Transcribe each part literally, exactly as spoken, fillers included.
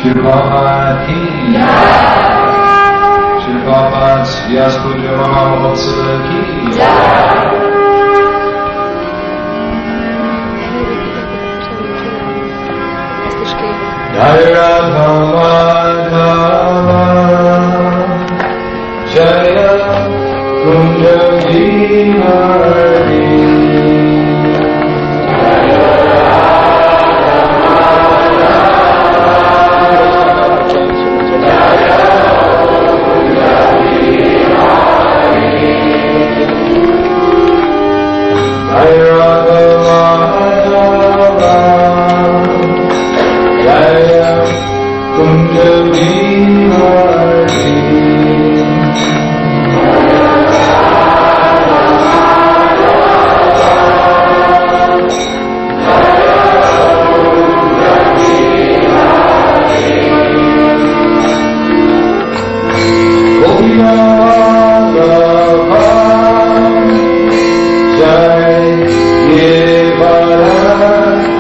Shri Prabhupada ki Shri Prabhupada Vyas Puja Mahavatsala ki Jai Radha Madhava Jaya Kunja Vihari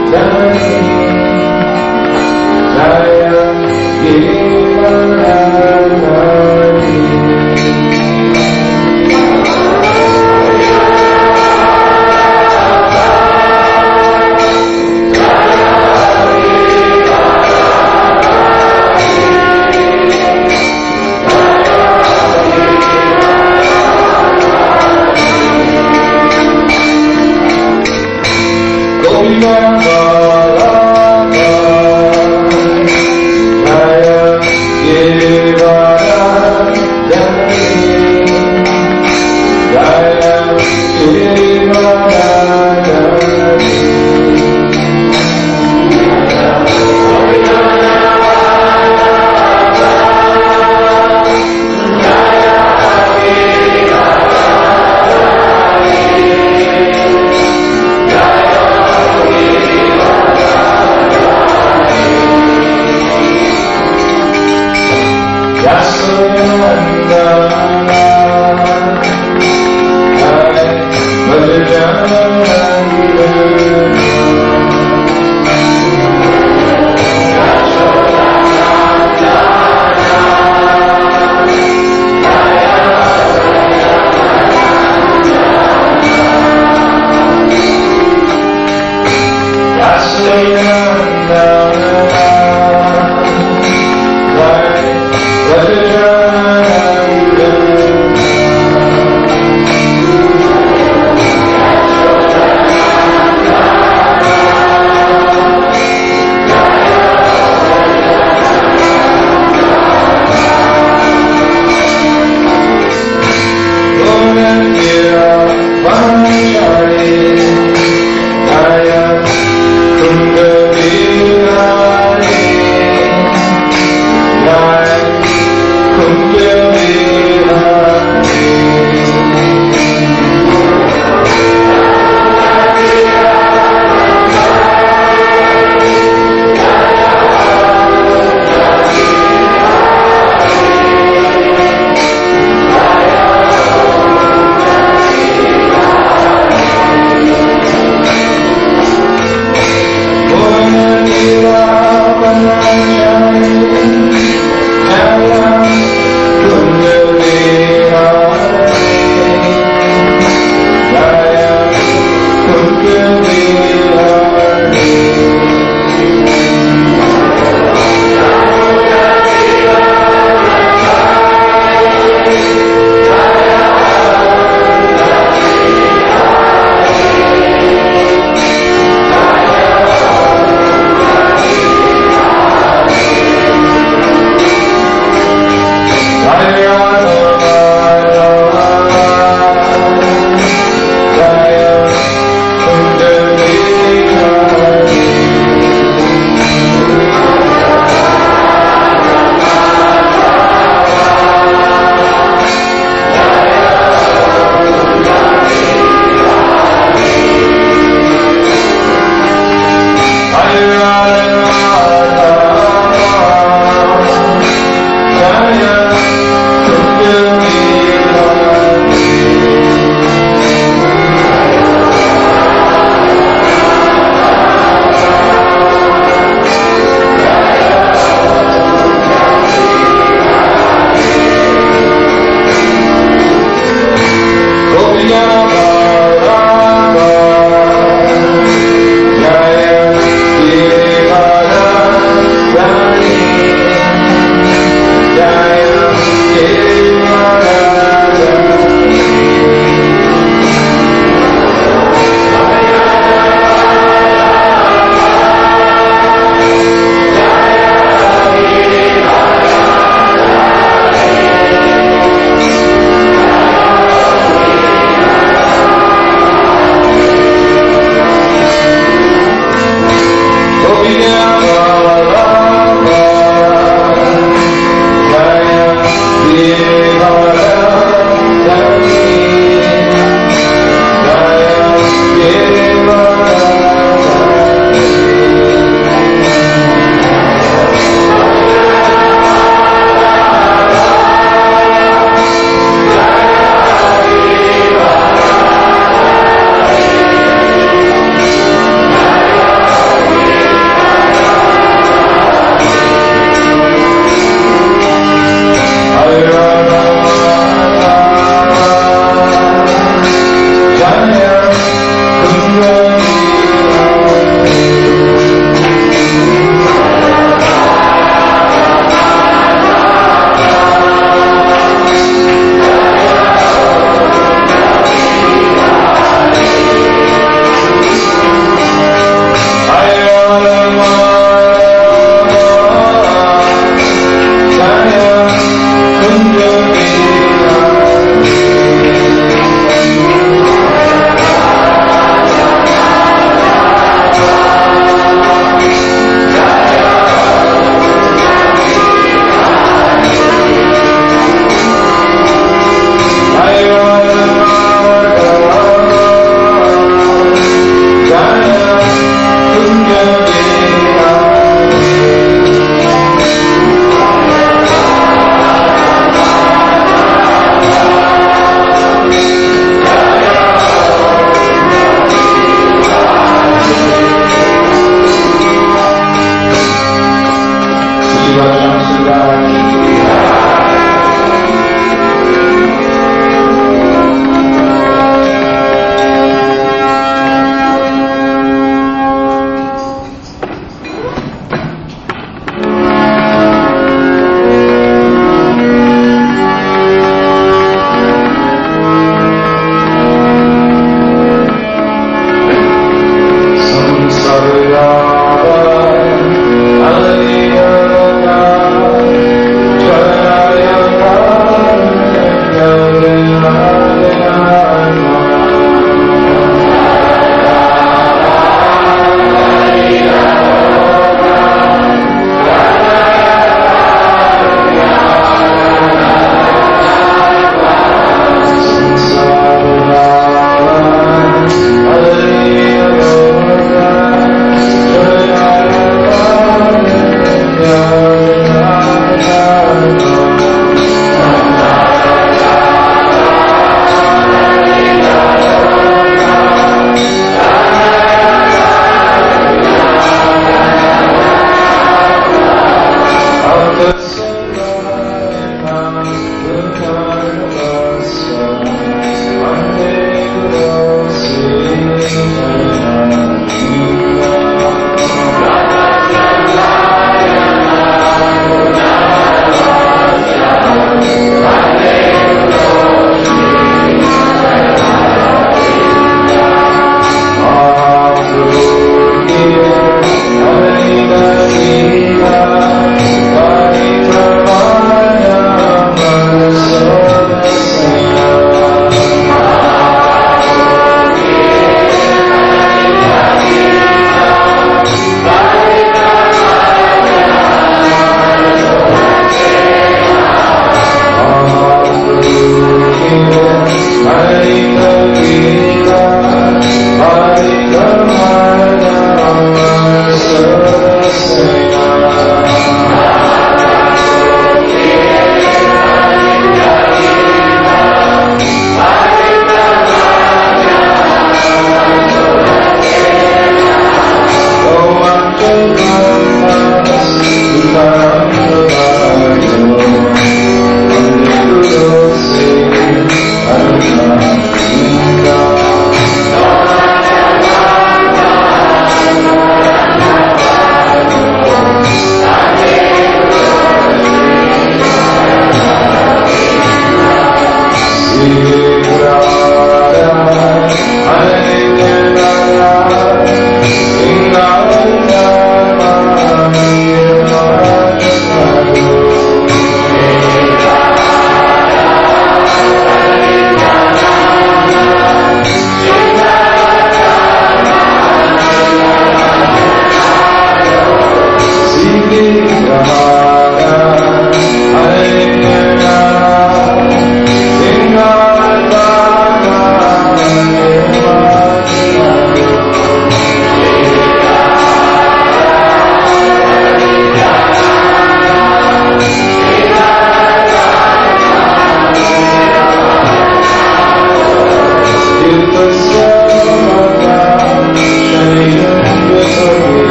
Jaya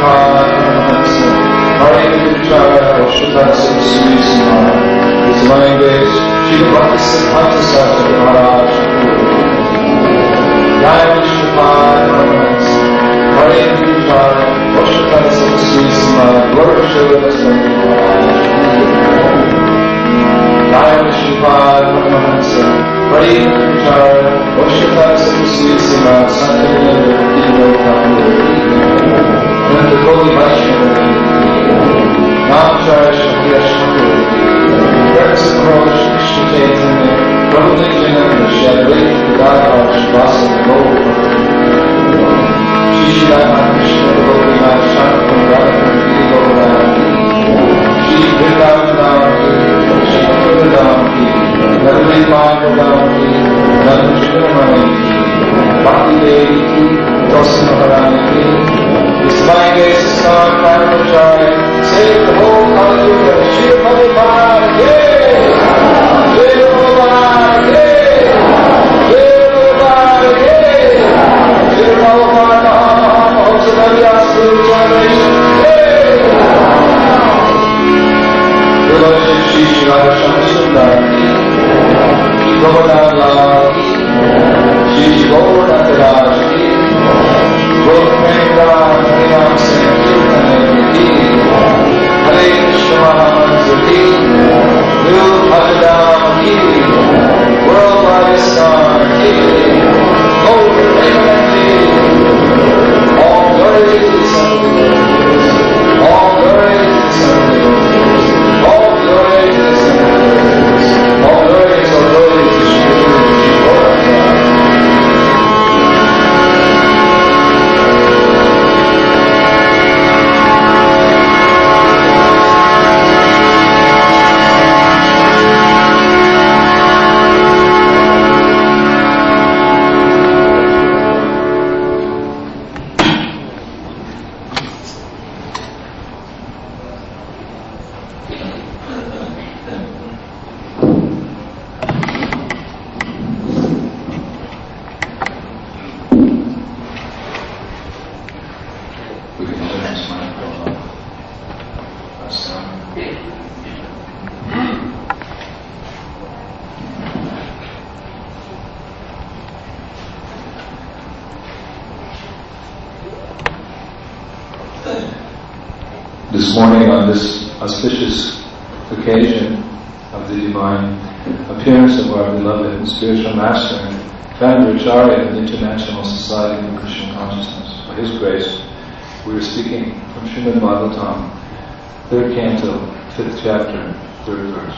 This morning, on this auspicious occasion of the divine appearance of our beloved spiritual master, founder Acharya of the International Society for Krishna Consciousness, by his grace, we are speaking from Srimad Bhagavatam, third canto, fifth chapter, third verse.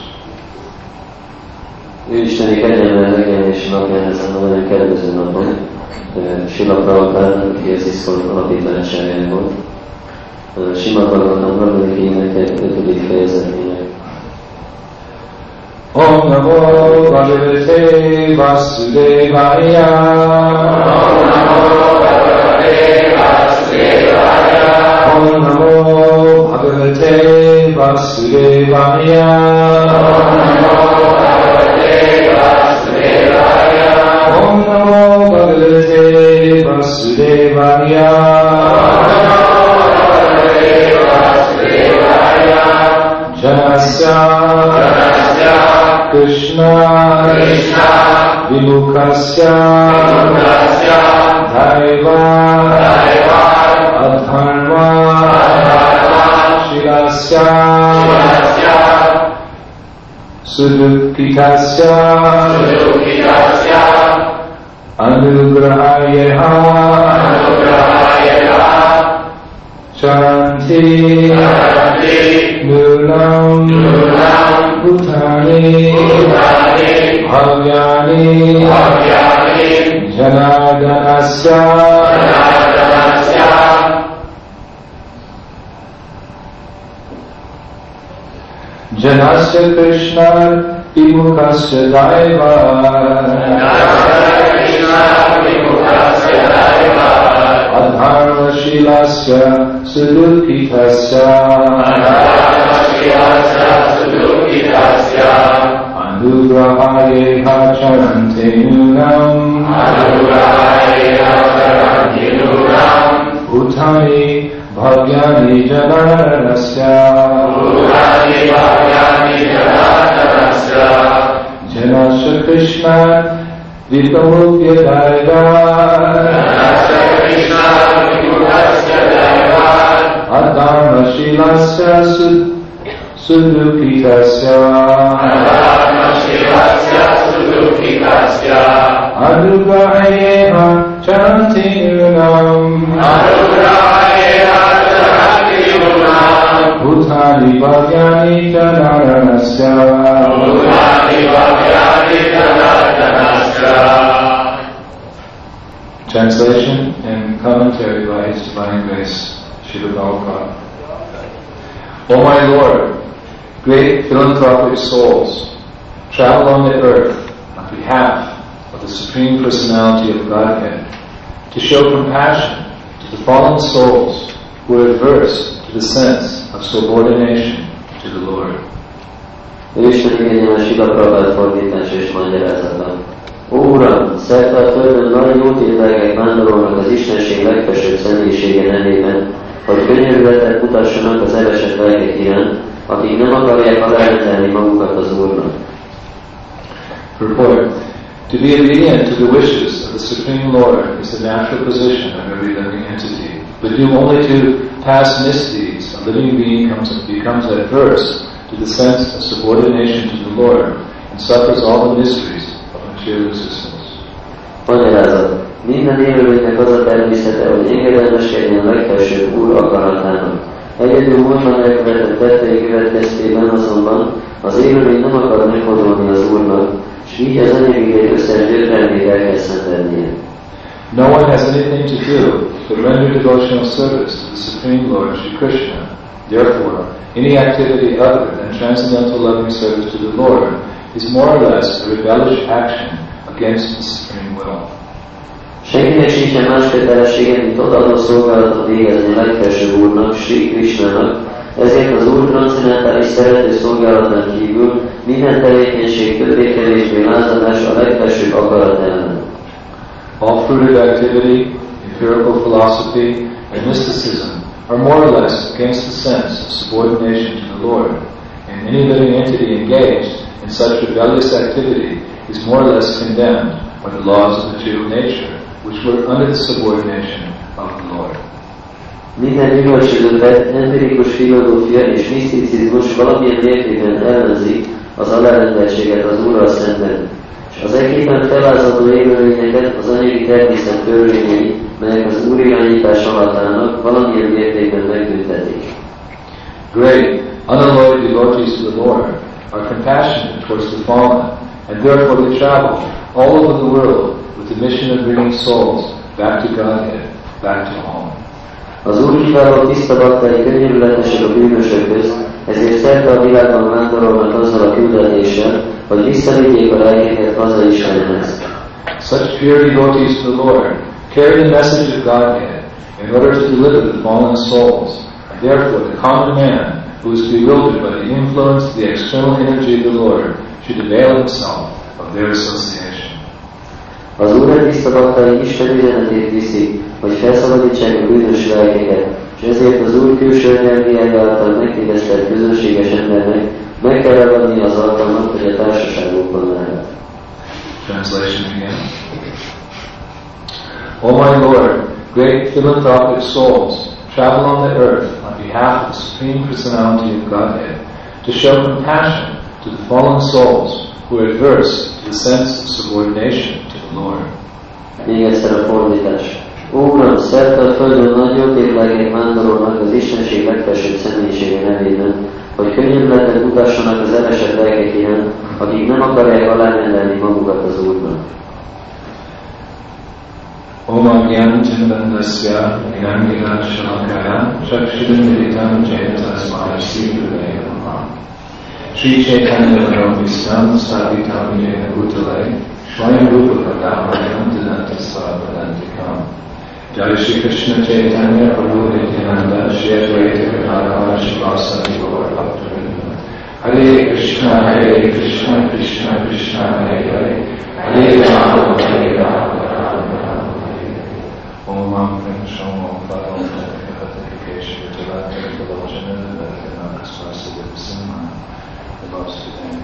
Ő Isteni kegyelme megjelenési napján ezen a nagyon kedvező napon, Srila Prabhupád, aki az iszkon alapítványságája volt, Srimad Bhagavatam harmadik énekek ötödik fejezetének. Om Namo Bhagavate Vasudevaya. Om Namo Bhagavate Vasudevaya. Om Namo Bhagavate Vasudevaya. Om Namo Bhagavate Vasudevaya. Janasya, Janasya Krishna, Krishna Vimukasya, Vimukasya Daiva, Daiva Adharma, Adharma Shilasya, Shilasya Sudukhitasya, Sudukhitasya Anugrahayeha, Anugrahayeha Charanti, Charanti Nulam, Nulam, Bhutani, Bhutani, Bhavyani, Bhavyani, Janardanasya, Janardanasya, Janasya Krishna, Vimukasya Daiva, Janasya Krishna, Vimukasya Daiva, Adharma Shilasya, Sudukhitasya, Anugrahayeha Charante Nunam, Bhutani Bhagyani Jananasya Bhutani Bhagyani Jananasya Janasya Krishna Vikamukya Daiva Janasya Krishna Vikamukya Daiva Adharma Shilasya Sudukitasya Adharma Shilasya Sudukitasya Anugrahayena Chanti Yunam Anugrahayena Chanti Yunam Bhutani Bhagyani Jananasya Bhutani Bhagyani Jananasya. Translation and commentary by His Divine Grace, Srila Prabhupada. O my Lord, great philanthropic souls, travel on the earth on behalf of the Supreme Personality of Godhead to show compassion to the fallen souls who are adverse to the sense of subordination to the Lord. Ő Isten igényel Srila Prabhupada fordítás és magyarázata. Ó Uram, szerte a földön nagy jótétlegek vándorolnak az Istenség legfelsőbb személyisége nevében, hogy könyörületet mutassanak az elesett lelkek iránt, akik nem akarják alárendelni magukat az Úrnak. Purport. To be obedient to the wishes of the Supreme Lord is the natural position of every living entity. But due only to past misdeeds, a living being comes, becomes adverse to the sense of subordination to the Lord and suffers all the miseries of material existence. Magyarázat. Minden élőlénynek az a természete, hogy engedelmeskedjen a legfelsőbb Úr akaratának. Egyedül múltban elkövetett tettei következtében azonban az élőlény nem akar megfordulni az Úrnak, és így az anyagi összes gyötrelmét el kell szenvednie. No one has anything to do but render devotional service to the Supreme Lord Shri Krishna. Therefore, any activity other than transcendental loving service to the Lord is more or less a rebellious action against the Supreme Will. Senkinek sincsen más kötelessége, mint odaadó szolgálatot végezni a legfelsőbb Úrnak, Sri Krishnának, ezért az Úr transzcendentális szerető szolgálatán kívül minden tevékenység többé-kevésbé lázadás a legfelsőbb akarat ellen. All fruitive activity, empirical philosophy, and mysticism are more or less against the sense of subordination to the Lord, and any living entity engaged in such rebellious activity is more or less condemned by the laws of material nature, which were under the subordination of the Lord. Minden gyümölcsözőt empirikus filozófia és miszticizmus valamilyen mértékben ellenzi az alárendeltséget az Úrral szemben, és az egyképpen felázadó élőlényeket az anyagi természet törvényei, melyek az Úr irányítás alatt állnak, valamilyen mértékben megtüntetik. Great, unalloyed devotees to the Lord are compassionate towards the fallen, and therefore they travel all over the world with the mission of bringing souls back to Godhead, back to home. Az Úr kiváló tiszta baktai könyörületesek a bűnösökhöz, ezért szerte a világban vándorolnak azzal a küldetéssel, hogy visszavigyék a lelkeket haza Istenhez. Such pure devotees to the Lord carry the message of Godhead in order to deliver the fallen souls, and therefore the common man who is bewildered by the influence of the external energy of the Lord should avail himself of their association. Az Úr tiszta baktai Isten üzenetét viszi, hogy felszabadítsák a bűnös lelkeket, és ezért az Úr külső energiája által megtévesztett közönséges embernek meg kell ragadni az alkalmat, hogy a társaságokban lehet. Translation again. O my Lord, great philanthropic souls, travel on the earth on behalf of the Supreme Personality of Godhead to show compassion to the fallen souls who are adverse to the sense of subordination to the Lord. Még egyszer a fordítás. Ó Uram, szerte a földön nagy jótétlegek vándorolnak az Istenség legfelsőbb személyisége nevében, hogy könyörületet mutassanak az elesett lelkek iránt, akik nem akarják alárendelni magukat az Úrnak. Om Agyan Chandandasya Gnangira Shalakaya Chakshidamiritam Jayatasmaya Sivudaya Namaha Sri Chaitanya Madhavistam Savitam Jena Bhutale Swayam Rupa Kadamayan Dhananta Svavadantikam Jai Shri Krishna Chaitanya Prabhu Nityananda Shri Advaita Gadadhara Shivasati Gaur Bhaktivinoda Hare Krishna Hare Krishna Krishna Krishna Hare Hare Hare Rama Hare Rama Om Ram Shom Om Padam Verification. Bhakti Devotion Bhakti Swastika Simha loves today.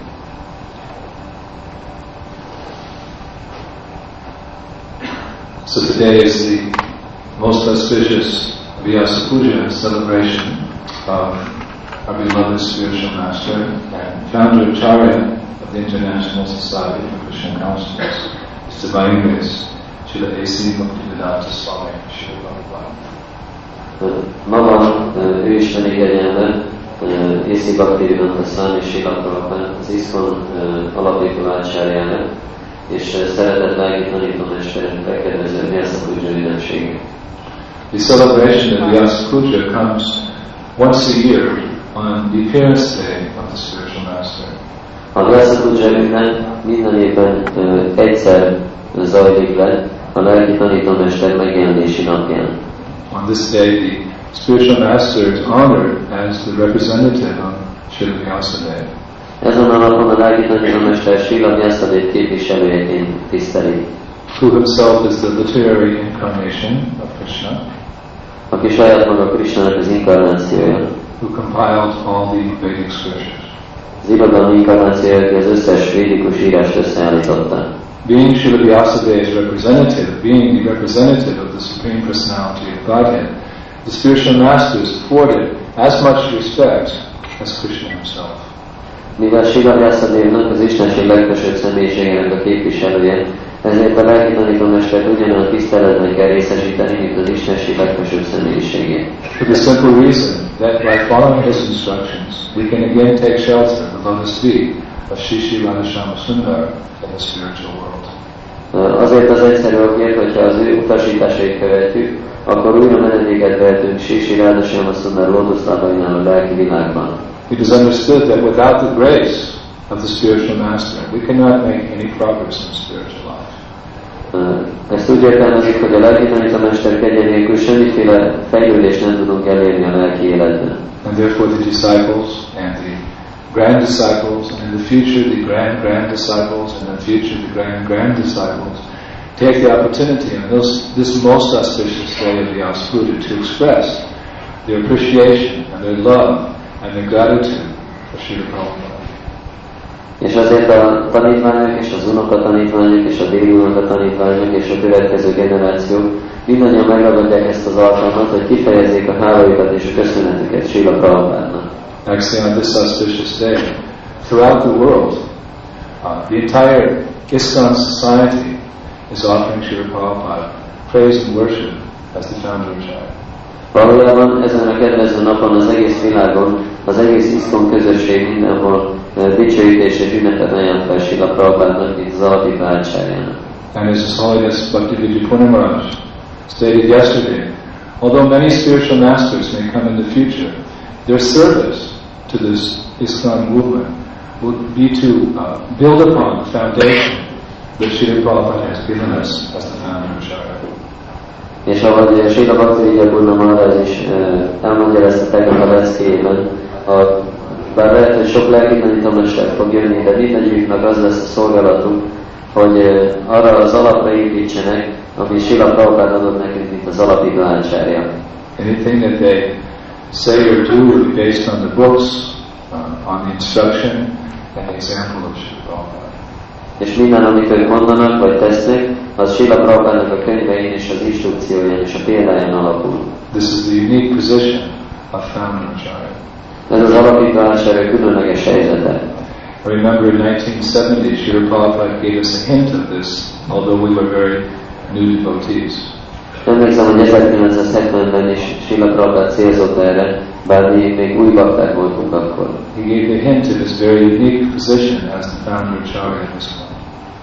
So today is the most auspicious Vyasa Puja celebration of our beloved spiritual master and founder Acharya of the International Society for Krishna Consciousness, His Divine Grace, Srila A C Bhaktivedanta Swami Srila Prabhupada. Ma van ő isteni kegyelme, A C Bhaktivedanta Swami Srila Prabhupada, az ISKCON alapító ácsárjának, és szeretett lelki tanítómester megkedvező Vyasa Puja ünnepsége. The celebration of Vyasa Puja comes once a year on the appearance day of the spiritual master. A Vyasa Puja ünnep minden évben uh, egyszer zajlik le a lelki tanítómester megjelenési napján. On this day, the spiritual master is honored as the representative of Srila Vyasadeva. Ezen a napon a lelki tanítómester Srila Vyasadeva képviselőjeként tisztelik. Who himself is the literary incarnation of Krishna, aki saját maga Krishnának az inkarnációja. Who compiled all the Vedic scriptures. Az irodalmi inkarnációja, aki az összes védikus írást összeállította. Being Srila Vyasadeva's representative, being the representative of the Supreme Personality of Godhead, the spiritual master is afforded as much respect as Krishna himself. Mivel Srila Vyasadevnak az Istenség legfelsőbb személyiségének a képviselője, ezért a lelki tanítómestert ugyanolyan tiszteletben kell részesíteni, mint az Istenség legfelsőbb személyiségét. For the simple reason that by following his instructions, we can again take shelter of the lotus feet of Shri Shri Radhashama Sundar in the spiritual world. Azért az egyszerű okért, hogyha az ő utasításait követjük, akkor újra menedéket vehetünk Shri Shri Radhashama Sundar lótuszlábainál a lelki világban. It is understood that without the grace of the spiritual master, we cannot make any progress in spiritual life. Ezt úgy értelmezik, hogy a lelki tanítómester kegye nélkül semmiféle fejlődést nem tudunk elérni a lelki életben. And therefore the disciples and the grand disciples, and in the future the grand grand disciples, and in the future the grand grand disciples, take the opportunity on this, this most auspicious day of the Vyasa Puja to express their appreciation and their love and their gratitude for Srila Prabhupada. És azért a tanítványok és az unokatanítványok és a déli unokatanítványok és a következő generációk mindannyian megragadják ezt az alkalmat, hogy kifejezzék a hálájukat és a köszönetüket Srila Prabhupádnak. Actually, on this auspicious day, throughout the world, uh, the entire ISKCON society is offering Srila Prabhupada praise and worship as the founder of Acharya. Valójában ezen a kedvező napon az egész világon, az egész ISKCON közösség mindenhol uh, dicsőítés és ünnepet ajánl fel Srila Prabhupádnak, mint az alapító ácsárjának. And as His Holiness Bhaktivedanta Purna Maharaj stated yesterday, although many spiritual masters may come in the future, their service to this ISKCON movement would be to uh, build upon the foundation that Srila Prabhupada has given us as the founder of Acharya. És ahogy Srila Bhaktivedanta Purna Maharaj is uh, elmagyarázta tegnap a leckéjében, bár lehet, hogy sok lelki tanítómester fog jönni, de mindegyiknek az lesz a szolgálatunk, hogy uh, arra az alapra építsenek, ami Srila Prabhupada adott nekünk, mint az alapító ácsárja. Anything that they say or do will be based on the books, uh, on the instruction and the example of Srila Prabhupada. És minden, amit ők mondanak vagy tesznek, az Srila Prabhupádnak a könyvein és az instrukcióján és a példáján alapul. This is the unique position of founder Acharya. Ez az alapító ácsárja különleges helyzete. I remember in nineteen seventy, Srila Prabhupada gave us a hint of this, although we were very new devotees. Emlékszem, hogy ezerkilencszázhetvenben is Srila Prabhupada célzott erre, bár mi még új bakták voltunk akkor. He gave a hint of his very unique position as the founder Acharya at this point.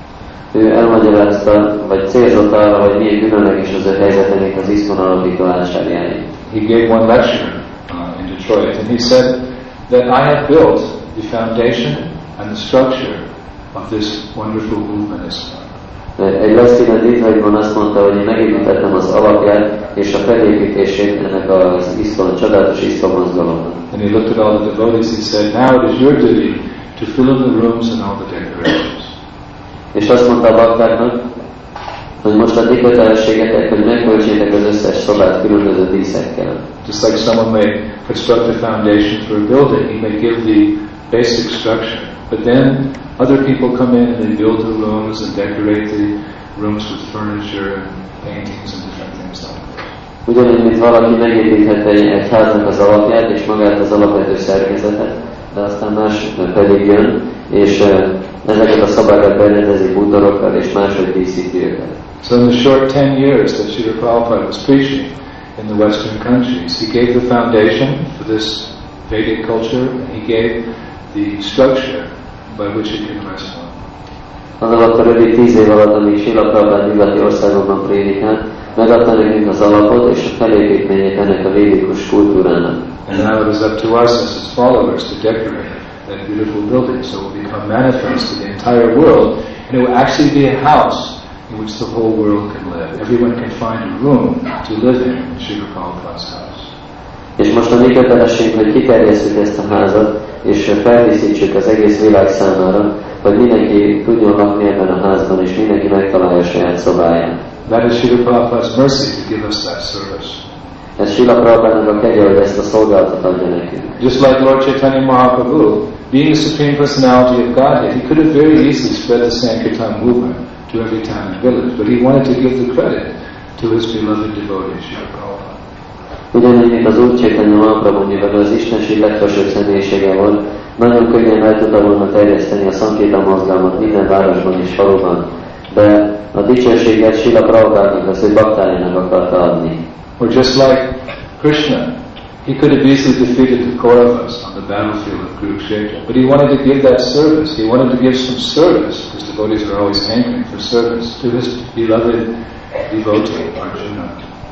Ő elmagyarázta, vagy célzott arra, hogy milyen különleges az ő helyzete, mint az ISKCON alapító ácsárjáé. He gave one lecture uh, in Detroit, and he said that I have built the foundation and the structure of this wonderful movement ISKCON. Egy beszédben Detroitban azt mondta, hogy én megépítettem az alapját és a felépítését ennek az ISKCON, csodálatos ISKCON mozgalomnak. And he looked at all the devotees, he said, now it is your duty to fill in the rooms and all the decorations. És azt mondta a baktáknak, hogy most a ti kötelességetek, hogy megköltsétek az összes szobát különböző díszekkel. Just like someone may construct a foundation for a building, he may give the basic structure, but then other people come in and they build the rooms and decorate the rooms with furniture and paintings and different things like that. Ugyanúgy, mint valaki megépíthet egy háznak az alapját és magát az alapvető szerkezetet, de aztán más pedig jön, és ezeket a szobákat berendezi bútorokkal és máshogy díszíti őket. So in the short ten years that Srila Prabhupada was preaching in the Western countries, he gave the foundation for this Vedic culture, and he gave the structure by which it can rest on. Az alatt a rövid tíz év alatt, amíg Srila Prabhupada nyugati országokban prédikált, megadta nekünk az alapot és a felépítményét ennek a védikus kultúrának. And now it is up to us as his followers to decorate that beautiful building so it will become manifest to the entire world, and it will actually be a house in which the whole world can live. Everyone can find a room to live in in Srila Prabhupada's house. És most a mi kötelességünk, hogy kiterjesszük ezt a házat, és feldíszítsük az egész világ számára, hogy mindenki tudjon lakni ebben a házban, és mindenki megtalálja a saját szobáját. That is Srila Prabhupada's mercy to give us that service. Ez Srila Prabhupának a kegye, hogy ezt a szolgálatot adja nekünk. Just like Lord Chaitanya Mahaprabhu, being the Supreme Personality of Godhead, he could have very easily spread the Sankirtan movement to every town and village, but he wanted to give the credit to his beloved devotee, Srila Prabhupada. Ugyanúgy, mint az Úr Chaitanya Mahaprabhu, mivel az Istenség legfelsőbb személyisége volt, nagyon könnyen el tudta volna terjeszteni a Sankirtan mozgalmat minden városban és faluban, de a dicsőséget Srila Prabhupádnak az ő baktájának akarta adni. Or just like Krishna, he could have easily defeated the Kauravas on the battlefield of Kurukshetra, but he wanted to give that service. He wanted to give some service, because devotees are always hankering for service, to his beloved devotee, Arjuna.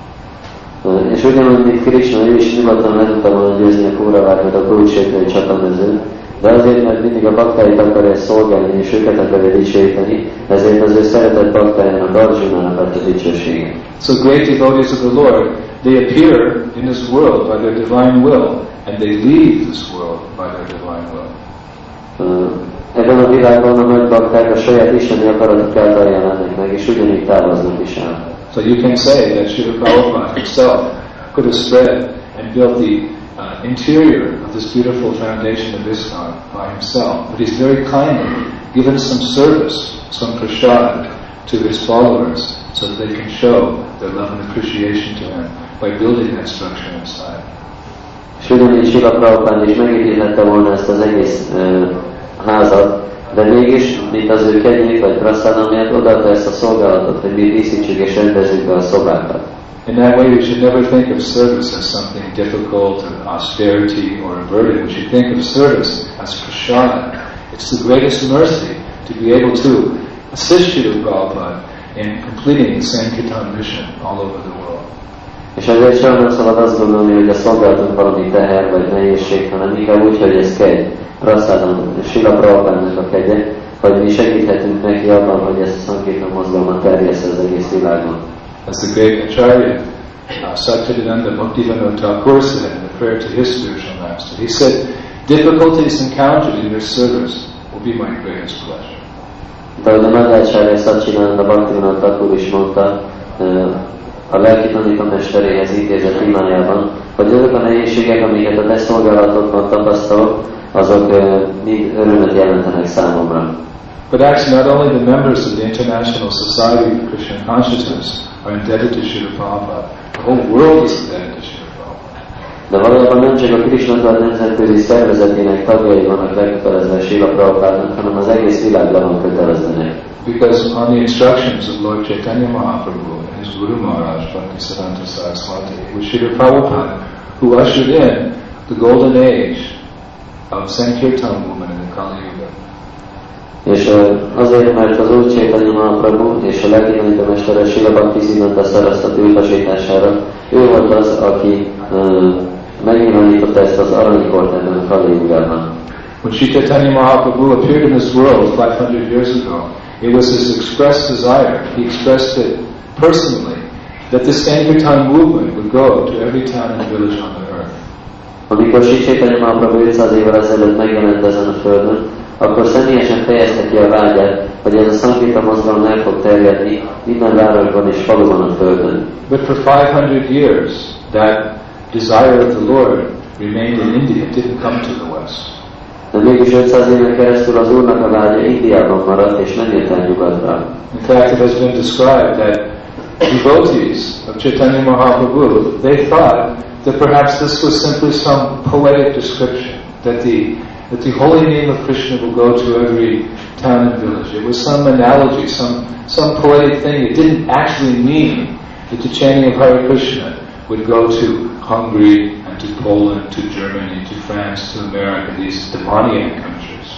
És ugyanúgy, mint Krishna, ő is nyugodtan le tudta volna győzni a Kauravákat a Kuruksétrai csatamezőn, de azért, mert mindig a baktáit akarja szolgálni és őket akarja dicsőíteni, ezért az ő szeretett baktájának, Arjunának adta dicsőséget. So great devotees of the Lord, they appear in this world by their divine will, and they leave this world by their divine will. Uh, ebben a világban a nagy bakták a saját isteni akaratuk által jelennek meg, és ugyanígy távoznak is el. So you can say that Srila Prabhupada himself could have spread and built the uh, interior of this beautiful foundation of ISKCON by himself, but he's very kindly given some service, some prasad to his followers so that they can show their love and appreciation to him by building that structure inside. És ugyanígy Srila Prabhupada is megépíthette volna ezt az egész uh, házat, de mégis, mint az ő kegyét vagy prasada miatt odaadta ezt a szolgálatot, hogy mi díszítsük és rendezzük be a szobákat. In that way, we should never think of service as something difficult or austerity or a burden. We should think of service as prasad. It's the greatest mercy to be able to assist Srila Prabhupada in completing the Sankirtan mission all over the world. És ezért sem nem szabad azt gondolni, hogy a szolgálatunk valami teher vagy nehézség, hanem inkább úgy, hogy ez kegy, prassadam, Srila Prabhupádnak a kegye, hogy mi segíthetünk neki abban, hogy ezt a Sankirtan mozgalmat terjessze az egész világon. As the great Acharya, uh, Satchidananda Bhaktivinoda Thakur said in the prayer to his spiritual master, he said, difficulties encountered in your service will be my greatest pleasure. De ahogy a nagy Acharya Satchidananda Bhaktivinoda Thakur is mondta, a lelki tanítómesteréhez intézett imájában, hogy azok a nehézségek, amiket a te szolgálatodban tapasztalok, azok mind örömet jelentenek számomra. But actually not only the members of the International Society of Krishna Consciousness are indebted to Srila Prabhupada, the whole world is indebted to Srila Prabhupada. De valójában nem csak a Krishna nemzetközi szervezetének tagjai vannak lekötelezve Srila Prabhupádnak, hanem az egész világ le van kötelezve neki. Because on the instructions of Lord Chaitanya Mahaprabhu and his Guru Maharaj, Bhaktisiddhanta Saraswati, it was Srila Prabhupada who ushered in the golden age of Sankirtan movement in the Kali Yuga. És azért, mert az Úr Chaitanya Mahaprabhu és a lelki tanítómestere Srila Bhaktisiddhanta Saraswati utasítására ő volt az, aki uh, megnyilvánította ezt az aranykort ebben a Kali Yugában. When Sri Chaitanya Mahaprabhu appeared in this world five hundred years ago, it was his expressed desire, he expressed it personally, that the Sankirtan movement would go to every town and village on the earth. Amikor Sri Chaitanya Mahaprabhu ötszáz évvel ezelőtt megjelent ezen a földön, akkor személyesen fejezte ki a vágyát, hogy ez a Sankirtan mozgalom el fog terjedni minden városban és faluban a földön. But for five hundred years, that desire of the Lord remained in India. It didn't come to the West. De mégis ötszáz éven keresztül az Úrnak a vágya Indiában maradt, és nem jött el nyugatra. In fact, it has been described that devotees of Chaitanya Mahaprabhu, they thought that perhaps this was simply some poetic description, that the, that the holy name of Krishna will go to every town and village. It was some analogy, some, some poetic thing. It didn't actually mean that the chanting of Hare Krishna would go to Hungary and to Poland, to Germany, to France, to America, these demoniac countries.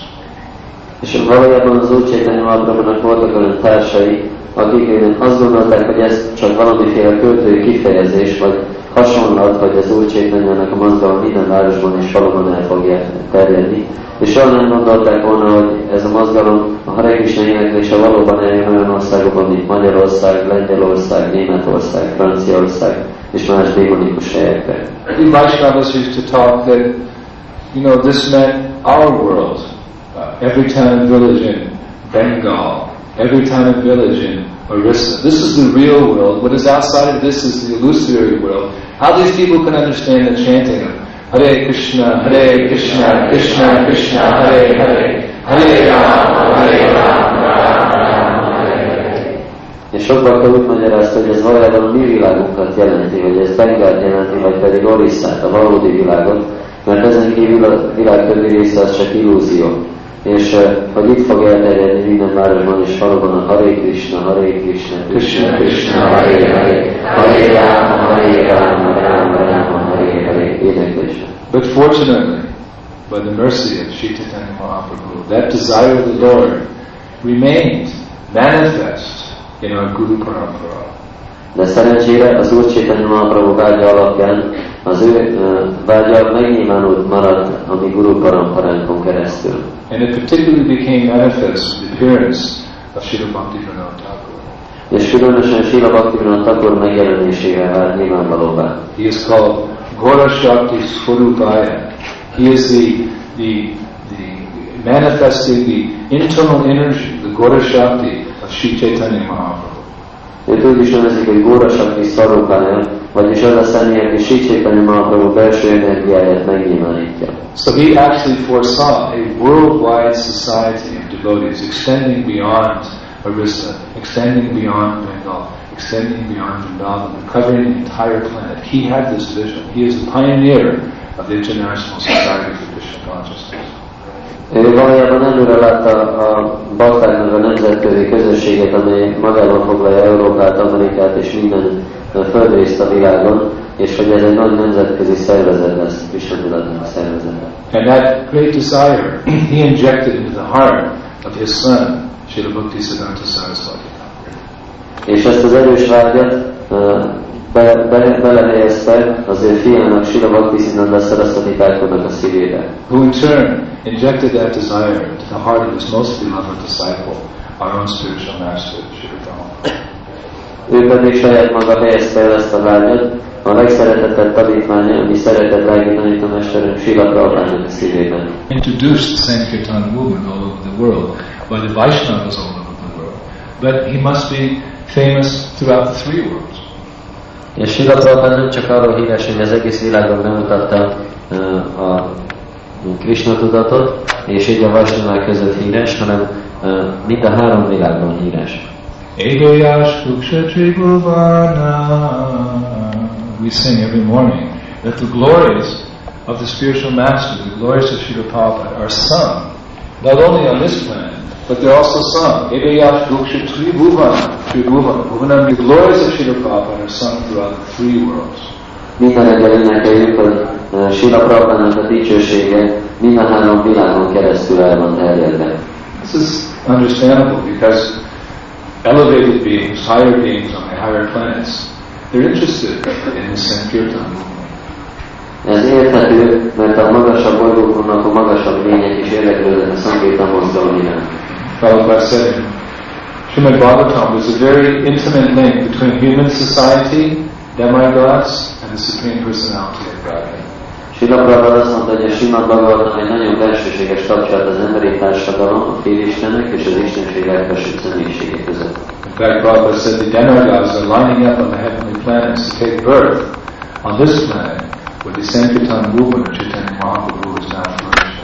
És valójában az Úr Chaitanya Mahaprabhunak voltak olyan társai, akik azt gondolták, hogy ez csak valamiféle költői kifejezés, vagy hasonlat, hogy az Úr Chaitanyának a mozgalom minden városban és faluban el fog terjedni. És soha nem gondolták volna, hogy ez a mozgalom a Hare Krishna éneklése valóban eljön olyan országokban, mint Magyarország, Lengyelország, Németország, Franciaország és más démonikus helyekre. The Vaishnavas used to talk that, you know, this meant our world. Uh, every town and village in Bengal, every town and village in Orissa. This is the real world. What is outside of this is the illusory world. How these people can understand the chanting of Hare Krishna, Hare Krishna, Krishna Krishna, Hare Hare, Hare Rama, Hare Rama, Rama Rama, Hare Hare. És sok bakta úgy magyarázta, hogy ez valójában a mi világunkat jelenti, hogy ez Bengált jelenti, vagy pedig Orissát, a valódi világot, mert ezen kívül a világ többi része az csak illúzió. És uh, hogy itt fog elterjedni minden városban és faluban a Hare Krishna, Hare Krishna, Krishna Krishna, Hare Hare, Hare Rama, Hare Rama, Rama Rama, Hare Hare éneklése. But fortunately, by the mercy of Sri Chaitanya Mahaprabhu, that desire of the Lord remained manifest in our Guru Parampara. De szerencsére az Úr Chaitanya Mahaprabhu vágya alapján az ő uh, vágya megnyilvánult maradt a mi Guru Paramparánkon keresztül. And it particularly became manifest with the appearance of Srila Bhaktivinoda Thakur. És különösen Srila Bhaktivinoda Thakur megjelenésével vált nyilvánvalóvá. He is called Ghora Shakti Swarupaya. He is the, the, the manifesting the internal energy, the Ghora Shakti of Sri Chaitanya Mahaprabhu. Őt úgy is nevezik, hogy Ghora Shakti Swarupaya, vagyis az a személy, aki Sri Chaitanya Mahaprabhu belső energiáját megnyilvánítja. So he actually foresaw a worldwide society of devotees extending beyond Orissa, extending beyond Bengal, extending beyond Vrindavan, covering the entire planet. He had this vision. He is the pioneer of the International Society for Krishna Consciousness. Ő valójában előre látta a baktáknak a nemzetközi közösséget, amely magában foglalja Európát, Amerikát és minden földrészt a világon, és hogy ez egy nagy nemzetközi szervezet lesz, Krishna tudatnak szervezete. And that great desire he injected into the heart of his son, Srila Bhaktisiddhanta Saraswati. És ezt az erős vágyat be, be, belehelyezte az ő fiának, Srila Bhaktisiddhanta Saraswati Thakurnak a szívébe. Who in turn injected that desire into the heart of his most beloved disciple, our own spiritual master, Srila Prabhupada. Ő pedig saját maga helyezte el ezt a vágyat, a legszeretettebb tanítványa, ami szeretett lelki tanítómesterünk Srila Prabhupádnak a szívében. Introduced Sankirtan movement all over the world by the Vaishnavas all over the world, but he must be famous throughout the three worlds. És Srila Prabhupád nem csak arról híres, hogy az egész világon bemutatta uh, a Krishna tudatot, és így a Vaishnavák között híres, hanem uh, mind a három világban híres. Egoyash Kuksha Tribhuvana. We sing every morning that the glories of the spiritual master, the glories of Srila Prabhupada are sung, not only on this planet, but they're also sung. Egoyash Kuksha Tribhuvana. Tribhuvana. The glories of Srila Prabhupada are sung throughout the three worlds. Minden reggel énekeljük, hogy uh, Srila Prabhupádnak a dicsősége minden három világon keresztül el van terjedve. This is understandable because elevated beings, higher beings on the higher planets, they're interested in the Sankirtan movement. Ez érthető, mert a magasabb bolygóknak a magasabb lények is érdeklődnek a Sankirtan mozgalom iránt. Prabhupada said in Srimad Bhagavatam, there's a very intimate link between human society, demigods, and the Supreme Personality of Godhead. Srila Prabhupada azt mondta, hogy a Srimad Bhagavatam egy nagyon belsőséges kapcsolat az emberi társadalom, a félistenek és az istenség legfelsőbb személyiségek között. In fact, Prabhupada said the Demigods are lining up on the heavenly planets to take birth on this planet with the Sankirtan movement of Chaitanya Mahaprabhu is now flourishing.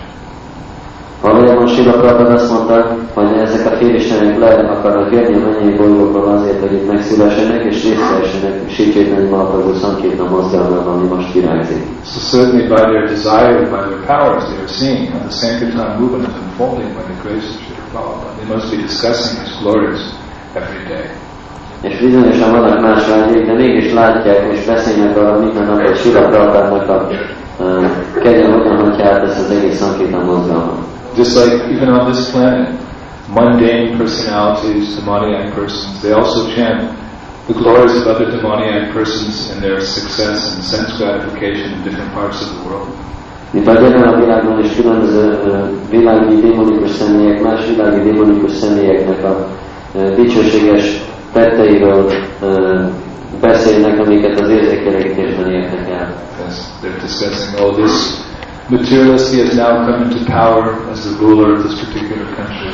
Valójában Srila Prabhupada azt mondta, hogy ezek a félistenek le akarnak jönni a mennyei bolygókról azért, hogy itt megszülessenek és részt vessenek Sri Chaitanya Mahaprabhu Sankirtan mozgalmában, ami most virágzik. So certainly by their desire and by their powers they are seeing how the Sankirtan movement is unfolding by the grace of Srila Prabhupada. They must be discussing his glories every day. És bizonyosan vannak más vágyék, de mégis látják és beszélnek arra minden nap, hogy Srila Prabhupádnak a uh, kegye hogyan hagyja át ezt az egész Sankirtan mozgalmat. Just like even on this planet, mundane personalities, demoniac persons, they also chant the glories of other demoniac persons and their success and sense gratification in different parts of the world. Mint ahogy ebben a világban is különböző uh, világi démonikus személyek, más világi démonikus személyeknek a uh, dicsőséges tetteiről uh, beszélnek, amiket az érzékelégítésben értek el. Yes, they're discussing, oh, this materialist, he has now come into power as the ruler of this particular country.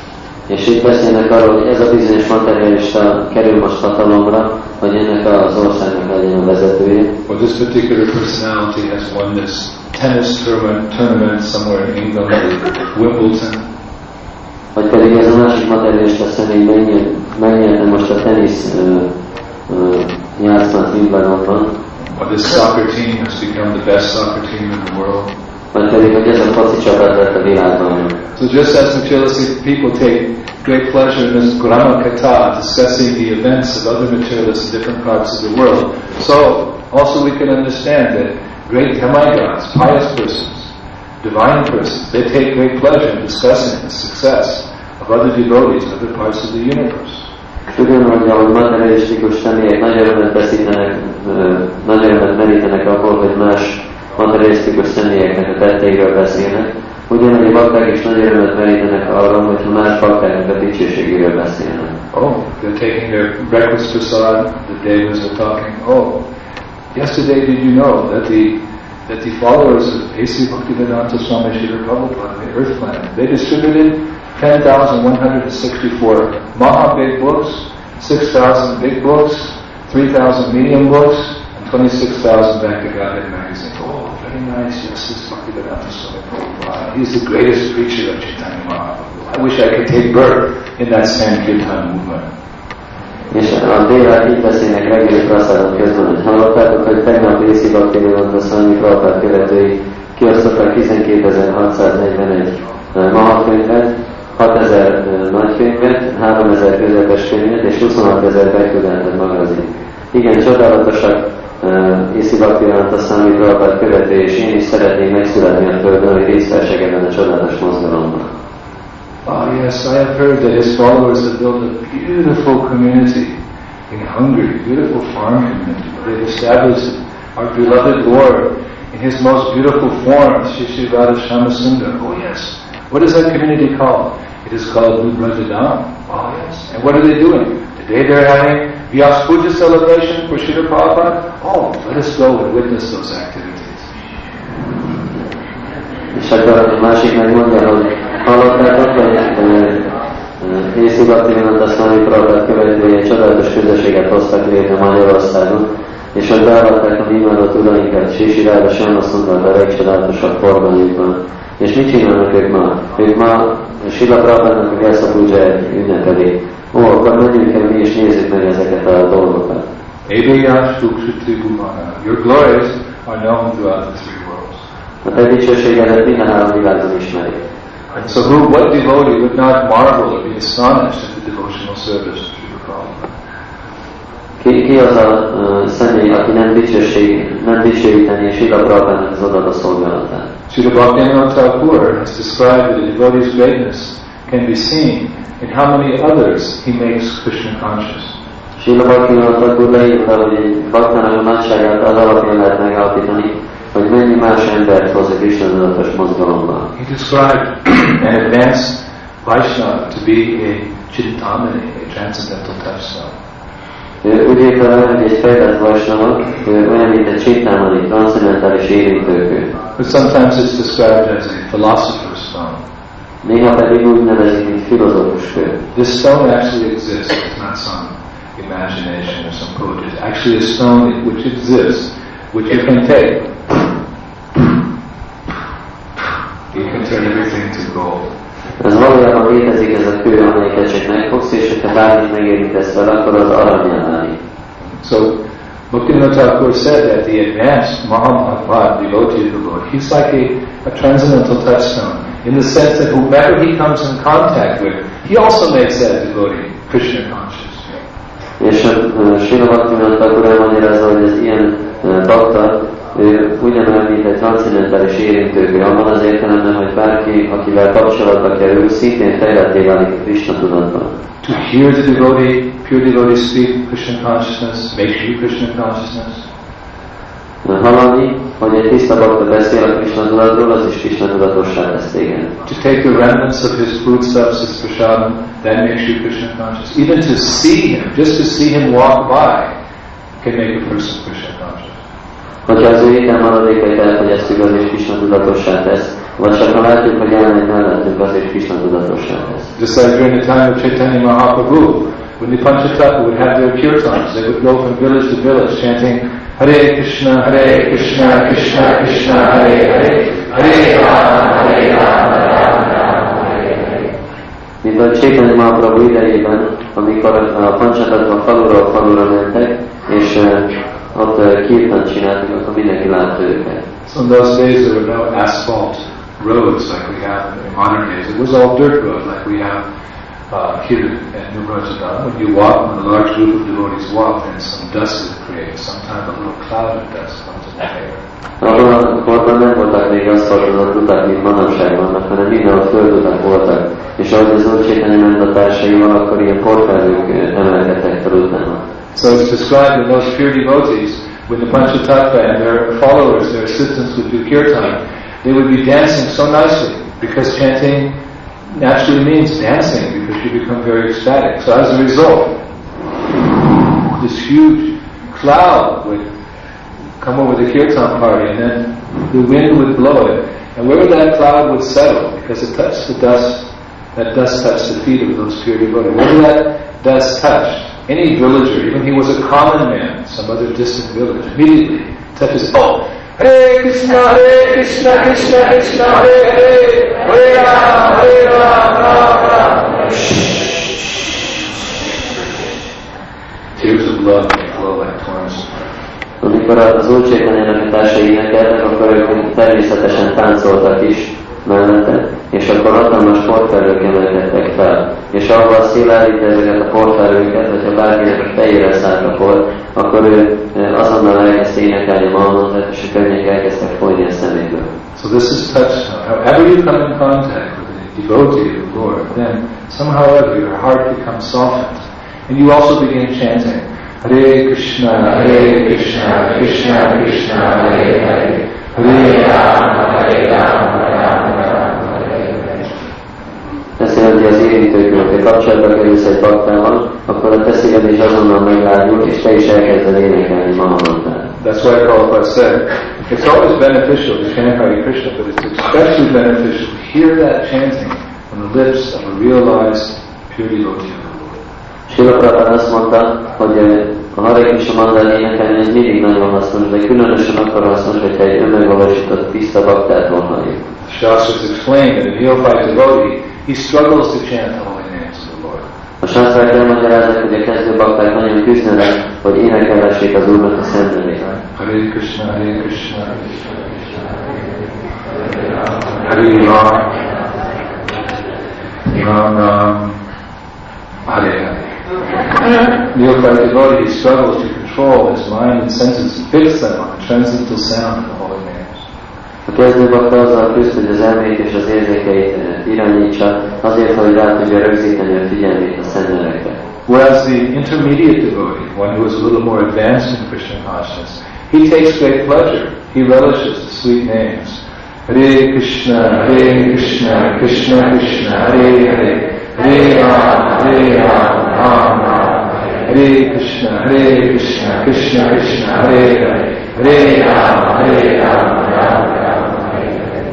És itt beszélnek arról, hogy ez a bizonyos materialista kerül most hatalomra, hogy ennek az országnak legyen a vezetője. Or this particular personality has won this tennis tournament, tournament somewhere in England, Wimbledon. Vagy pedig ez a másik materialista személy megnyerte most a tenisz uh, uh, játszmát Wimbledonban. Or this soccer team has become the best soccer team in the world. Vagy pedig, hogy ez a foci csapat lett a világban. So just as materialistic people take great pleasure in this Grama Katha, discussing the events of other materialists in different parts of the world, so also we can understand that great demigods, pious persons, divine persons, they take great pleasure in discussing the success of other devotees in other parts of the universe. Ugyanúgy, ahogy materialisztikus személyek nagy örömet veszítenek, nagy örömet merítenek abból, hogy más materialisztikus személyeknek a tetteiről beszélnek, ugyanúgy a bakták is nagy örömet merítenek arról, hogyha más baktáknak a dicsőségéről beszélnek. Oh, they're taking their breakfast prasad, the devas are talking, oh, yesterday did you know that the that the followers of A C Bhaktivedanta Swami Srila Prabhupada, the earth planet, they distributed ten thousand one hundred sixty-four Maha big books, six thousand big books, three thousand medium books, and twenty-six thousand back to Godhead magazine. Oh, very nice, yes, this Bhaktivedanta Swami Prabhupada. He's the greatest preacher of Chaitanya Mahaprabhu. I wish I could take birth in that Sankirtan movement. És a délel így beszélnek reggeli praszádon közben, hogy hallottátok, hogy tegnap Észi Bhaktivedanta Swami Prabhupada követői kiosztottak tizenkétezer-hatszáznegyvenegy mahakönyvet, hatezer nagykönyvet, háromezer közepes könyvet és huszonhatezer beküldetet magazin. Igen, csodálatosak Észi Bhaktivedanta Swami Prabhupada követői, és én is szeretnék megszületni a Földön, hogy részt vessek ebben a csodálatos mozgalomban. Oh yes, I have heard that his followers have built a beautiful community in Hungary, beautiful farm community. They've established our beloved Lord in his most beautiful form, Shri Shri Radha Shyamasundar. Oh yes. What is that community called? It is called New Brajadam. Oh yes. And what are they doing? Today they're having Vyas Puja celebration for Srila Prabhupada. Oh, let us go and witness those activities. És akkor a másik megmondja, hogy hallottátok, hogy Észi Bhaktivedanta Swami Prabhupada követői egy csodálatos közösséget hoztak létre Magyarországon, és hogy beavatták a mi imádott urainkat, Sri Sri Radha Shyamasundar a legcsodálatosabb forgalmukban. És mit csinálnak ők ma? Ők ma Srila Prabhupádnak a Vyasa Puját ünnepelik. Ó, akkor menjünk el mi és nézzük meg ezeket a dolgokat. Your glories are known throughout the three worlds. A te dicsőségedet minden három világon ismerik. And so who, what devotee would not marvel or be astonished at the devotional service of Srila Prabhupada? Ki, ki az a uh, személy, aki nem dicsőség, nem dicsőíteni Srila Prabhupádnak az odaadó szolgálatát? Srila Bhaktivinoda Thakur has described that a devotee's greatness can be seen in how many others he makes Krishna conscious. Srila Bhaktivinoda Thakur leírta, hogy egy baktának a nagyságát az alapján lehet megállapítani, hogy mennyi más embert hoz a Krishna tudatos mozgalomba. He described an advanced Vaishnava to be a Chintamani, a transcendental touchstone. Úgy értem, hogy egy fejlett vajsnava olyan, mint egy csétámani, transzcendentális érintőkő. But sometimes it's described as a philosopher's stone. Néha pedig úgy nevezik, mint filozófus kő. This stone actually exists. It's not some imagination or some poetry. It's actually a stone which exists, which you can take. You can turn everything to gold. Ez valójában létezik, ez a kő, amelyiket csak megfogsz, és ha bármit megérintesz vele, akkor az aranyjá válik. So, Bhaktivinoda Thakur said that the advanced Mahabhagavad devotee of the Lord, he's like a, a transcendental touchstone, in the sense that whomever he comes in contact with, he also makes that devotee Krishna conscious. És uh, Srila Bhaktivinoda Thakur elmagyarázza, hogy ez ilyen uh, bakta, ő ugyanolyan, mint egy transzcendentális érintőkő, abban az értelemben, hogy bárki, akivel kapcsolatba kerül, szintén fejletté válik a Krishna tudatban. To hear the devotee, pure devotee speak Krishna consciousness, makes you Krishna consciousness. Hallani, hogy egy tiszta bakta beszél a Krishna tudatról, az is Krishna tudatossá tesz téged. To take the remnants of his foodstuffs, his prasadam, that makes you Krishna conscious. Even to see him, just to see him walk by, can make a person Krishna conscious. Hogyha az ő étel maradékait elfogyasztjuk, az is Krishna tudatossá tesz. Vagy csak ha látjuk, hogy elmegy mellettünk, az is Krishna tudatossá tesz. Just like during the time of Chaitanya Mahaprabhu, when the Panchatattva would have their kirtans, they would go from village to village chanting Hare Krishna, Hare Krishna, Krishna Krishna, Hare Hare, Hare Rama, Hare Rama, Rama Rama, Hare Hare. Mint a Chaitanya Mahaprabhu idejében, amikor a Panchatattva faluról falura mentek, és uh, ott uh, kirtant csináltak, akkor mindenki látta őket. So in those days there were no asphalt roads like we have in modern days. It was all dirt roads like we have uh, here at New Brajadam. When you walk, when a large group of devotees walk, then some dust is created. Sometimes a little cloud of dust comes in the air. Abban a korban nem voltak még aszfaltozott utak, mint manapság vannak, hanem mindenhol földutak voltak. És ahogy az Úr Chaitanya ment a társaival, akkor ilyen porfelhők emelkedtek fel utána. So it's described in those pure devotees, when the Panchatattva and their followers, their assistants would do kirtan, they would be dancing so nicely, because chanting naturally means dancing, because you become very ecstatic. So as a result, this huge cloud would come over the kirtan party, and then the wind would blow it. And wherever that cloud would settle, because it touched the dust, that dust touched the feet of those pure devotees. Wherever that dust touched, any villager, even he was a common man, some other distant village, immediately touches, oh, Hare Krishna, Hare Krishna, Krishna Krishna, Hare Hare, Hare Rama, Hare Rama, Rama Rama. Tears of blood flow like torrents. Amikor az Úr Chaitanyának a társai énekeltek, akkor ők természetesen táncoltak is mellette, és akkor hatalmas portfelők emelkedtek fel. És ahol szélállítja ezeket a portfelőket, hogyha bárkinek a fejére szállt a por, akkor ő azonnal elkezdte énekelni a Mahamantrat, és a könnyek elkezdtek folyni a szeméből. So this is touchstone. However you come in contact with a devotee of the Lord, then somehow or other your heart becomes softened. And you also begin chanting, Hare Krishna, Hare Krishna, Krishna Krishna, Hare Hare, Hare Rama, Hare Rama, Rama Rama, Hare Hare. Ezt jelenti az érintőkül, hogyha kapcsolatba kerülsz egy baktával, akkor a te szíved is azonnal meglágyul, és te is elkezded énekelni Mahamantrát. That's why Prabhupada said, it's always beneficial to chant Hare Krishna, but it's especially beneficial to hear that chanting from the lips of a realized pure devotee of the Lord. Srila Prabhupada azt mondta, hogy a Hare Krishna mantrát énekelni ez mindig nagyon hasznos, de különösen akkor hasznos, hogyha egy önmegvalósított tiszta baktától halljuk. Shastras explain that a neophyte devotee, he struggles to chant the holy names of the Lord. A sásztrák elmagyarázzák, hogy a kezdő bakták nagyon küzdenek, hogy énekelhessék az Úrnak a szent nevét. Hare Krishna, Hare Krishna, Hare Rama, Ram Ram, Hare Hare. Neophyte devotee, he struggles to control his mind and senses and fix them on the transcendental sound of the holy names. A kezdő bakta azzal küzd, hogy az elmét és az érzékeit irányítsa, azért, hogy rá tudja rögzíteni a figyelmét a szent nevekre. Whereas the intermediate devotee, one who is a little more advanced in Krishna consciousness, he takes great pleasure. He relishes the sweet names. Hare Krishna, Hare Krishna, Krishna Krishna, Hare Hare, Hare Rama, Hare Rama, Rama Rama, Hare Hare. Hare Krishna, Hare Krishna, Krishna Krishna, Hare Hare, Hare Rama, Hare Rama, Rama Rama, Hare Hare.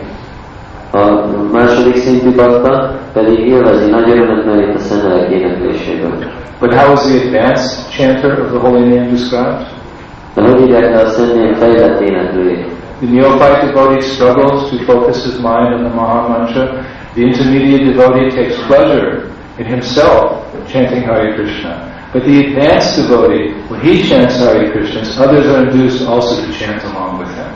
A második szintű bakta pedig élvezi nagy örömet merít a szentelek énekléséből. But how is the advanced chanter of the holy name described? De hogy írják le a szentnél fejlett éneklőjét? The neophyte devotee struggles to focus his mind on the Maha Mantra. The intermediate devotee takes pleasure in himself chanting Hare Krishna. But the advanced devotee, when he chants Hare Krishna, others are induced also to chant along with him.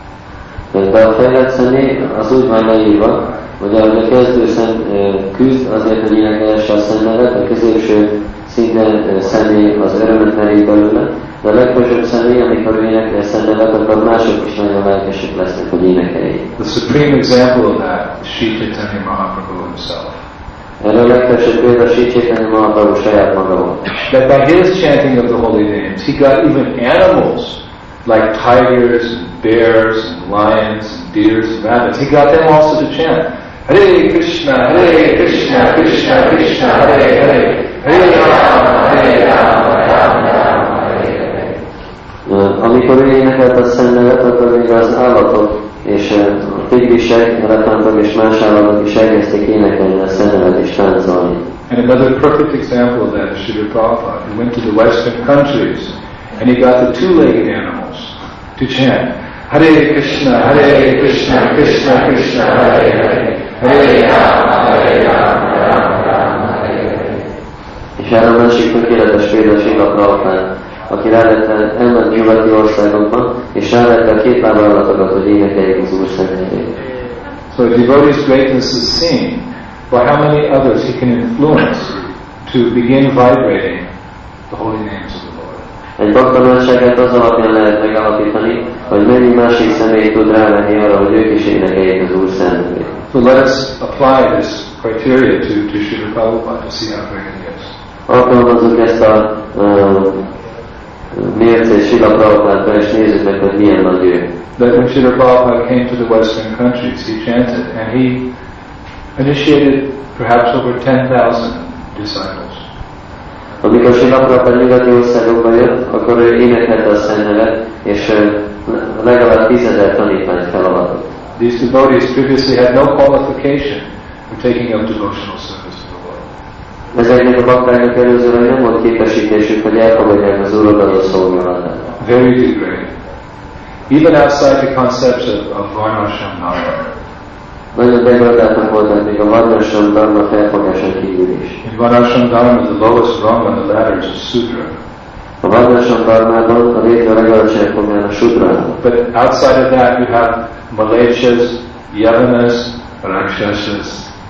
De a fejlett személy az úgy van leírva, hogy ahogy a kezdő szem küzd azért, hogy énekelhesse a szennevet, a középső szinten személy az örömet merít belőle, de a legfelsőbb személy, amikor ő énekel a szennevet, akkor mások is nagyon lelkesek lesznek, hogy énekeljék. The supreme example of that is Sri Chaitanya Mahaprabhu himself. Erre a legfelsőbb példa Sri Chaitanya Mahaprabhu saját maga volt. That by his chanting of the holy names, he got even animals like tigers and bears and lions and deers and rabbits. He got them also to chant Hare Krishna, Hare Krishna, Krishna Krishna, Hare Hare, Hare Rama, Hare Rama, Rama Rama, Hare Hare. Amikor ő énekelt a szennevet, akkor még az állatok és a tigrisek, elefántok és más állatok is elkezdték énekelni a szennevet és táncolni. And another perfect example of that is Srila Prabhupada, who went to the Western countries and he got the two-legged animals to chant Hare Krishna, Hare Krishna, Krishna Krishna, Hare Hare, Hare Rama, Hare Rama, Rama Rama, Hare Hare. És erre a másik tökéletes példa Srila Prabhupada, aki rávette elment nyugati országokban, és rávette a két láb állatokat, hogy énekeljék az Úr szentelét. So a devotee's greatness is seen by how many others he can influence to begin vibrating the holy names of the Lord. Egy bakta nagyságát az alapján lehet megállapítani, hogy mennyi másik személy tud rávenni arra, hogy ők is énekeljék az Úr szentelét. So let us apply this criteria to, to Srila Prabhupada to see how great he is. Alkalmazzuk ezt a uh, mércét Srila Prabhupádra, és nézzük meg, hogy milyen nagy ő. That when Srila Prabhupada came to the Western countries, he chanted, and he initiated perhaps over ten thousand disciples. Amikor Srila Prabhupada nyugati országokba jött, akkor ő énekelte a szennevet, és legalább tízezer tanítványt feladatott. These devotees previously had no qualification for taking up devotional service to the Lord. Ezeknek a baktáknak előzőleg nem volt képesítésük, hogy elfogadják az Úr adott szolgálatát. Very degraded. Even outside the concepts of, of Varnashram Dharma. Nagyon degradáltak voltak még a Varnashram Dharma felfogásán kívül is. In Varnashram Dharma, the lowest rung on the ladder is a Sudra. A Varnashram Dharmában a létre legalacsonyabb fogán a Sudra. But outside of that, you have Malechas, Yavanas, Rakshasas.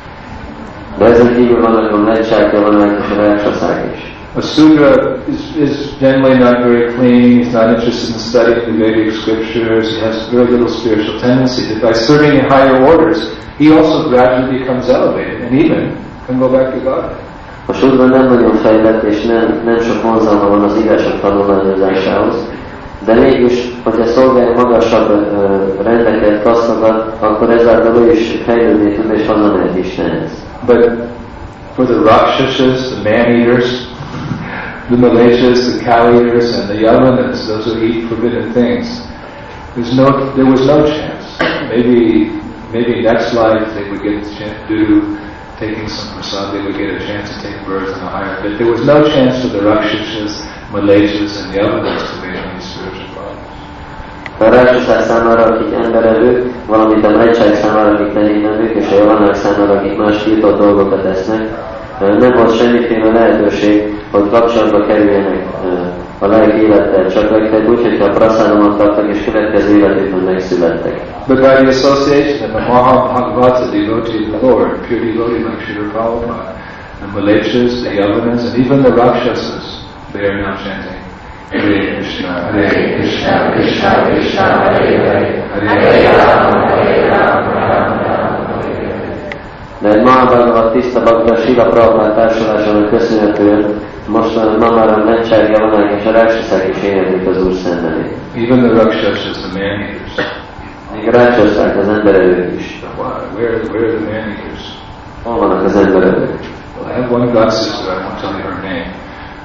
De ezen kívül vannak a mleccsák, javanák és a ráksaszák is. A Sudra is, is generally not very clean. He's not interested in studying the Vedic scriptures. He has very little spiritual tendency. But by serving in higher orders, he also gradually becomes elevated and even can go back to God. A Sudra nem nagyon fejlett, és nem, nem sok vonzalma van az írások tanulmányozásához, de mégis, hogyha szolgálja magasabb uh, rendeket, kasztokat, akkor ezáltal ő is fejlődni tud, és hazamehet Istenhez. But for the Rakshasas, the man-eaters, the Malechas, the cow-eaters, and the Yavanas, those who eat forbidden things, there's no, there was no chance. Maybe, maybe next life they would get a chance to do, taking some prasad, they would get a chance to take birth in a higher, but there was no chance for the Rakshasas, Malechas, and Yavanas to make any spiritual progress. A ráksaszák számára, akik emberevők, valamint a mleccsák számára, akik tehénevők, és a javanák számára, akik más tiltott dolgokat esznek, nem volt semmiféle lehetőség, hogy kapcsolatba kerüljenek a lelki élettel, csak legfeljebb úgy, hogyha a praszádomat kaptak, és következő életükben megszülettek. But by the association of a Mahabhagavata devotee of the Lord, pure devotee like Srila Prabhupada, the Malechas, the Yavanas, and even the Rakshasas, they are now chanting Hare Krishna, Hare Krishna, Krishna Krishna, Hare Hare, Hare Rama, Hare Rama, Rama Rama, Hare Hare. De egy Mahabhagavat tiszta bakta Srila Prabhupada társulásának köszönhetően most ma már a mleccsák, javanák és a ráksaszák is éneklik az Úr szentelét. Even the Rakshasas, the man-eaters. Még a ráksaszák, az emberevők is. Why? Where, where are the man-eaters? Hol vannak az emberevők? Well, I have one god sister, I won't tell you her name.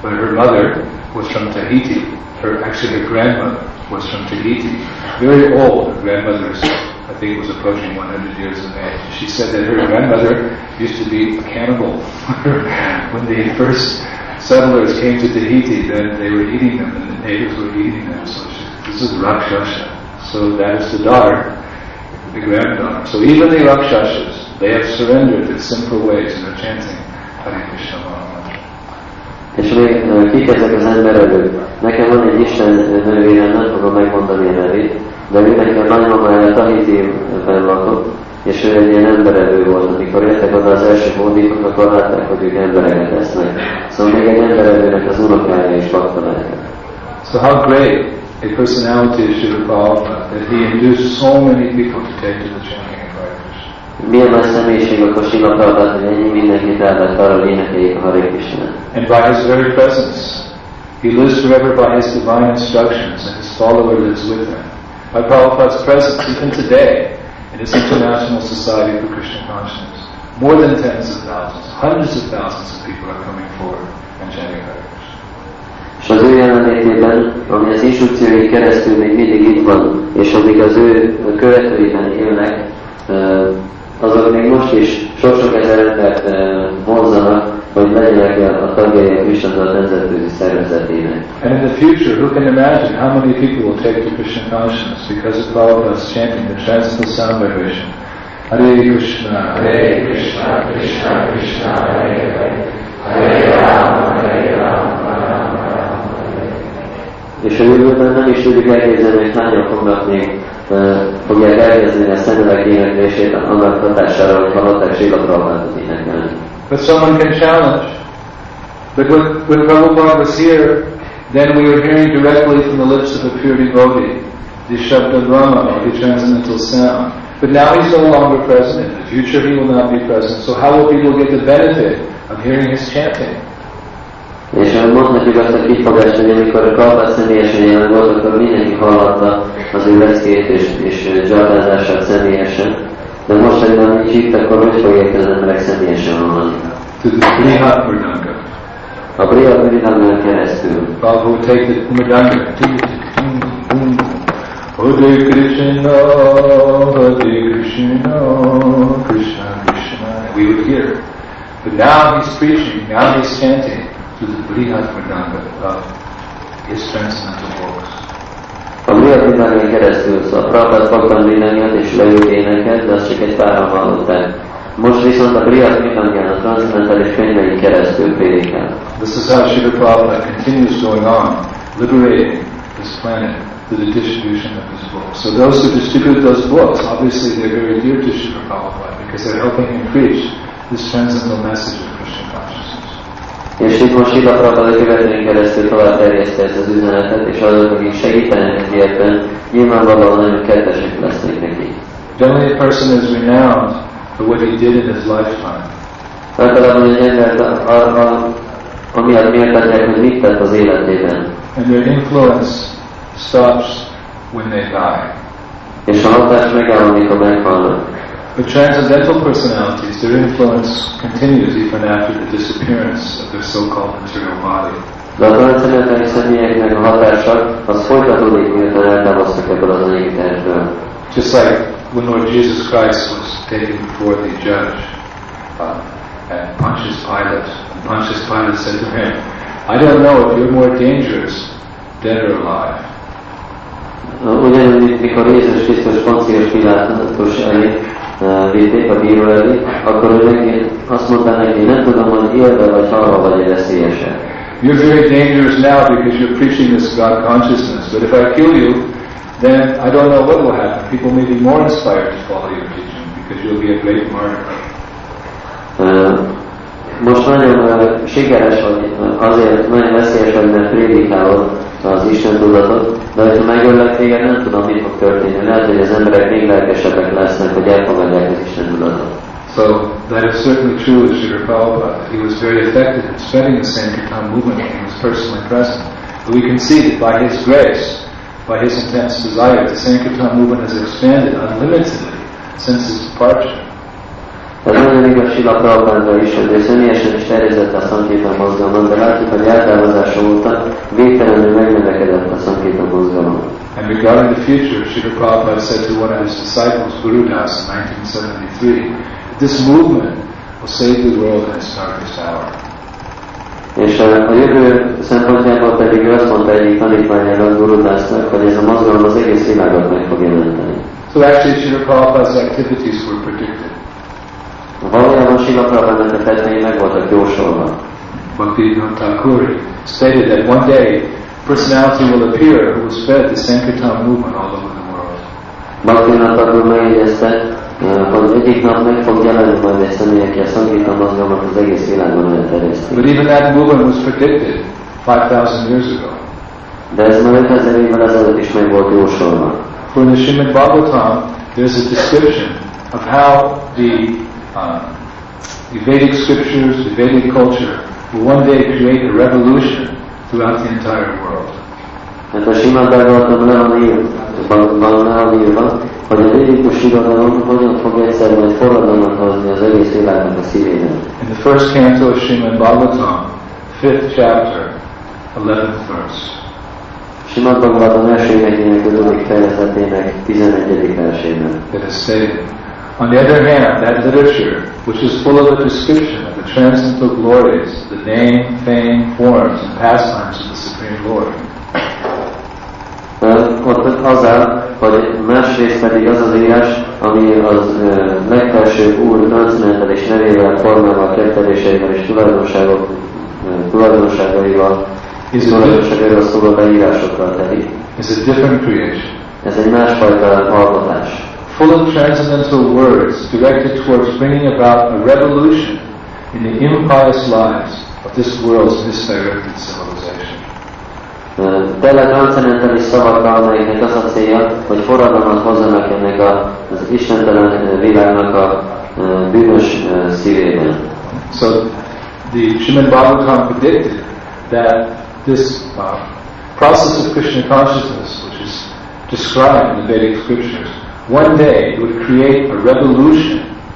but her mother was from Tahiti. Her, actually her grandmother was from Tahiti. Very old. Her grandmother, I think, was approaching one hundred years of age. She said that her grandmother used to be a cannibal. When the first settlers came to Tahiti, then they were eating them, and the natives were eating them. So she, this is Rakshasha. So that is the daughter, the granddaughter. So even the Rakshasas, they have surrendered in simple ways and are chanting Hare Krishna Maha Mantra. És még kik ezek az emberek? Nekem van egy Isten nővérem, nem fogom megmondani a nevét, de ő nekem nagymamája Tahiti-ben lakott, és ő egy ilyen emberevő volt. Amikor jöttek oda az első hódítok, akkor látták, hogy ők embereket esznek. Szóval még egy emberevőnek az unokája is lakta lehet. So how great a personality is Srila Prabhupada, that he induced so many people to take to the chanting of Hare Krishna. Milyen nagy személyiség akkor Srila Prabhupada, hogy ennyi mindenkit elvett arra, hogy énekeljék a Hare Krishna. And by his very presence, he lives forever by his divine instructions, and his follower lives with him. By Prabhupada's presence, even today, in this International Society for Krishna Consciousness, more than tens of thousands, hundreds of thousands of people are coming forward and chanting Hare Krishna. És az ő jelenlétében, ami az instrukciói keresztül még mindig itt van, és amíg az ő követőiben élnek, azok még most is sok-sok ezer embert vonzanak, hogy legyenek a tagjai a Krishna nemzetközi szervezetének. And in the future, who can imagine how many people will take to Krishna consciousness because of Prabhupada's chanting the transcendental sound vibration? Hare Krishna, Hare Krishna, Krishna Krishna, Hare Hare, Hare Rama, Hare Rama, Rama Rama, Hare. És a jövőben nem is tudjuk elképzelni, hogy hányan fognak még uh, fogják elkezdeni a szentelek éneklését annak hatására, hogy hallották Srila Prabhupádot énekelni. But someone can challenge. But when, when Prabhupada was here, then we were hearing directly from the lips of a pure devotee, the Shabda Brahma, or the transcendental sound. But now he's no longer present. In the future he will not be present. So how will people get the benefit of hearing his chanting? És mondhatjuk azt a kifogást, hogy amikor a Prabhupád személyesen jelen volt, akkor mindenki hallotta az ő leckét és, és dzsarlázását személyesen. De most, hogy már nincs itt, akkor hogy fogják az emberek személyesen hallani? To the Brihat Mridanga. A Brihat Mridanga keresztül. Prabhu would take the Mridanga. Hare Krishna, Hare Krishna, Krishna Krishna. We would hear. But now he's preaching, now he's chanting to the Brihat Mridanga of his transcendental works. A Brihat Mridanga keresztül, szóval a Prabhupád fogta Mridangát és leült énekelt, de azt csak egy páran hallották. Most viszont a Brihat Mridangán a transzendentális könyvein keresztül prédikál. This is how Srila Prabhupada continues going on, liberating this planet through the distribution of his books. So those who distribute those books, obviously they're very dear to Srila Prabhupada because they're helping him preach this transcendental message of Krishna consciousness. És itt most Srila Prabhupada követően keresztül tovább terjeszte ezt az üzenetet, és azok, akik segítenek neki ebben, nyilvánvalóan nagyon kedvesek lesznek neki. Generally a person is renowned for what he did in his lifetime. Általában egy embert amiatt méltatják, hogy mit tett az életében. And their influence stops when they die. És a hatás megáll, amikor meghalnak. But transcendental personalities, their influence continues even after the disappearance of their so-called material body. De a transzendentális személyeknek a hatása az folytatódik, miután eltávoztak ebből az anyagi testből. Just like when Lord Jesus Christ was taken before the judge uh, and Pontius Pilate, and Pontius Pilate said to him, I don't know if you're more dangerous, dead or alive. Ugyanúgy, mikor Jézus Krisztus Poncius Pilátus elé vitték a bíró elé, akkor ő neki azt mondta neki, nem tudom, hogy élve vagy halva vagy veszélyesek. You're very dangerous now because you're preaching this God consciousness. But if I kill you, then I don't know what will happen. People may be more inspired to follow your teaching because you'll be a great martyr. Uh, most nagyon uh, sikeres vagy, azért nagyon veszélyes vagy, mert prédikálod az Isten tudatot, de hogyha megöllek téged, nem tudom, mit fog történni. Lehet, hogy az emberek még lelkesebbek lesznek, hogy elfogadják az Isten tudatot. So that is certainly true of Srila Prabhupada. He was very effective in spreading the Sankirtan movement when he was personally present. But we can see that by his grace, by his intense desire, the Sankirtan movement has expanded unlimitedly since his departure. Ez nagyon igaz Srila Prabhupáda is, hogy ő személyesen is terjesztette a Sankirtan mozgalmat, de látjuk, hogy eltávozása óta végtelenül megnövekedett a Sankirtan mozgalom. And regarding the future, Srila Prabhupada said to one of his disciples, Guru Das, in nineteen seventy-three, that this movement will save the world in its darkest hour. És a jövő szempontjából pedig ő azt mondta egyik tanítványának, Guru Dasnak, hogy ez a mozgalom az egész világot meg fog jelenteni. So actually, Srila Prabhupada's activities were predicted. Valójában Srila Prabhupádának a tettei meg voltak jósolva. Bhaktivinoda Thakur stated that one day personality will appear who will spread the Sankirtan movement all over the world. Bhaktivinoda Thakur megjegyezte, hogy egyik nap meg fog jelenni majd egy személy, aki a Sankirtan mozgalmat az egész világon elterjeszti. But even that movement was predicted five thousand years ago. De ez már ötezer évvel ezelőtt is meg volt jósolva. For in the Srimad Bhagavatam, there's a description of how the, uh, the Vedic scriptures, the Vedic culture, will one day create a revolution throughout the entire world. Hát a Srimad Bhagavatam le van írva, hogy a védikus irodalom hogyan fog egyszer majd forradalmat hozni az egész világnak a szívében. In the first canto of Srimad Bhagavatam, fifth chapter, eleventh verse. Srimad Bhagavatam első énekének ötödik fejezetének tizenegyedik versében. It is stated, on the other hand, that literature, which is full of a description of the transcendental glories, the name, fame, forms, and pastimes of the Supreme Lord. Uh, ott az áll, hogy másrészt pedig az az írás, ami az uh, legfelsőbb Úr transzendentális nevével, formával, ketteléseivel és tulajdonságok, uh, tulajdonságaival, tulajdonságaival szóló leírásokkal telik. It's a different creation. Ez egy másfajta alkotás. Full of transcendental words directed towards bringing about a revolution in the impious lives of this world's misdirected civilization. Tele transzendentális szavakkal, amelyeknek az a célja, hogy forradalmat hozzanak ennek az istentelen világnak a bűnös szívében. So the Srimad Bhagavatam predicted that this uh, process of Krishna consciousness, which is described in the Vedic scriptures, one day would create a revolution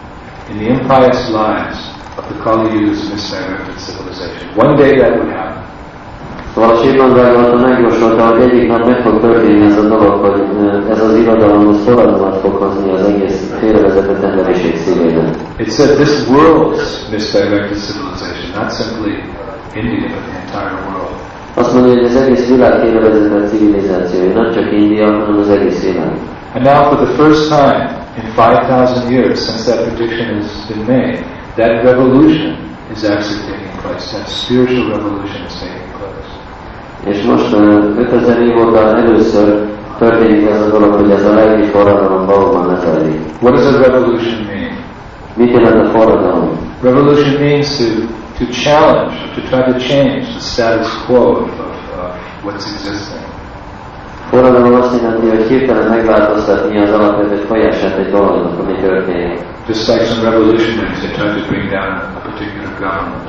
in the impious lives of the Kali Yuga's misdirected civilization. One day that would happen. Szóval a Srimad Bhagavatam megjósolta, hogy egyik nap meg fog történni ez a dolog, hogy ez az irodalom az forradalmat fog hozni az egész félrevezetett emberiség szívében. It said this world's misdirected civilization, not simply India, but the entire world. Azt mondja, hogy az egész világ félrevezetett civilizációja, nem csak India, hanem az egész világ. And now for the first time in five thousand years since that prediction has been made, that revolution is actually taking place. That spiritual revolution is taking place. És most ötezer év óta először történik ez a dolog, hogy ez a lelki forradalom valóban lezajlik. What does a revolution mean? Mit jelent a forradalom? Revolution means to, to challenge, to try to change the status quo of, of uh, what's existing. Forradalom azt jelenti, hogy hirtelen megváltoztatni az alapvető folyását egy dolognak, ami történik. Just like some revolutionaries, they try to bring down a particular government.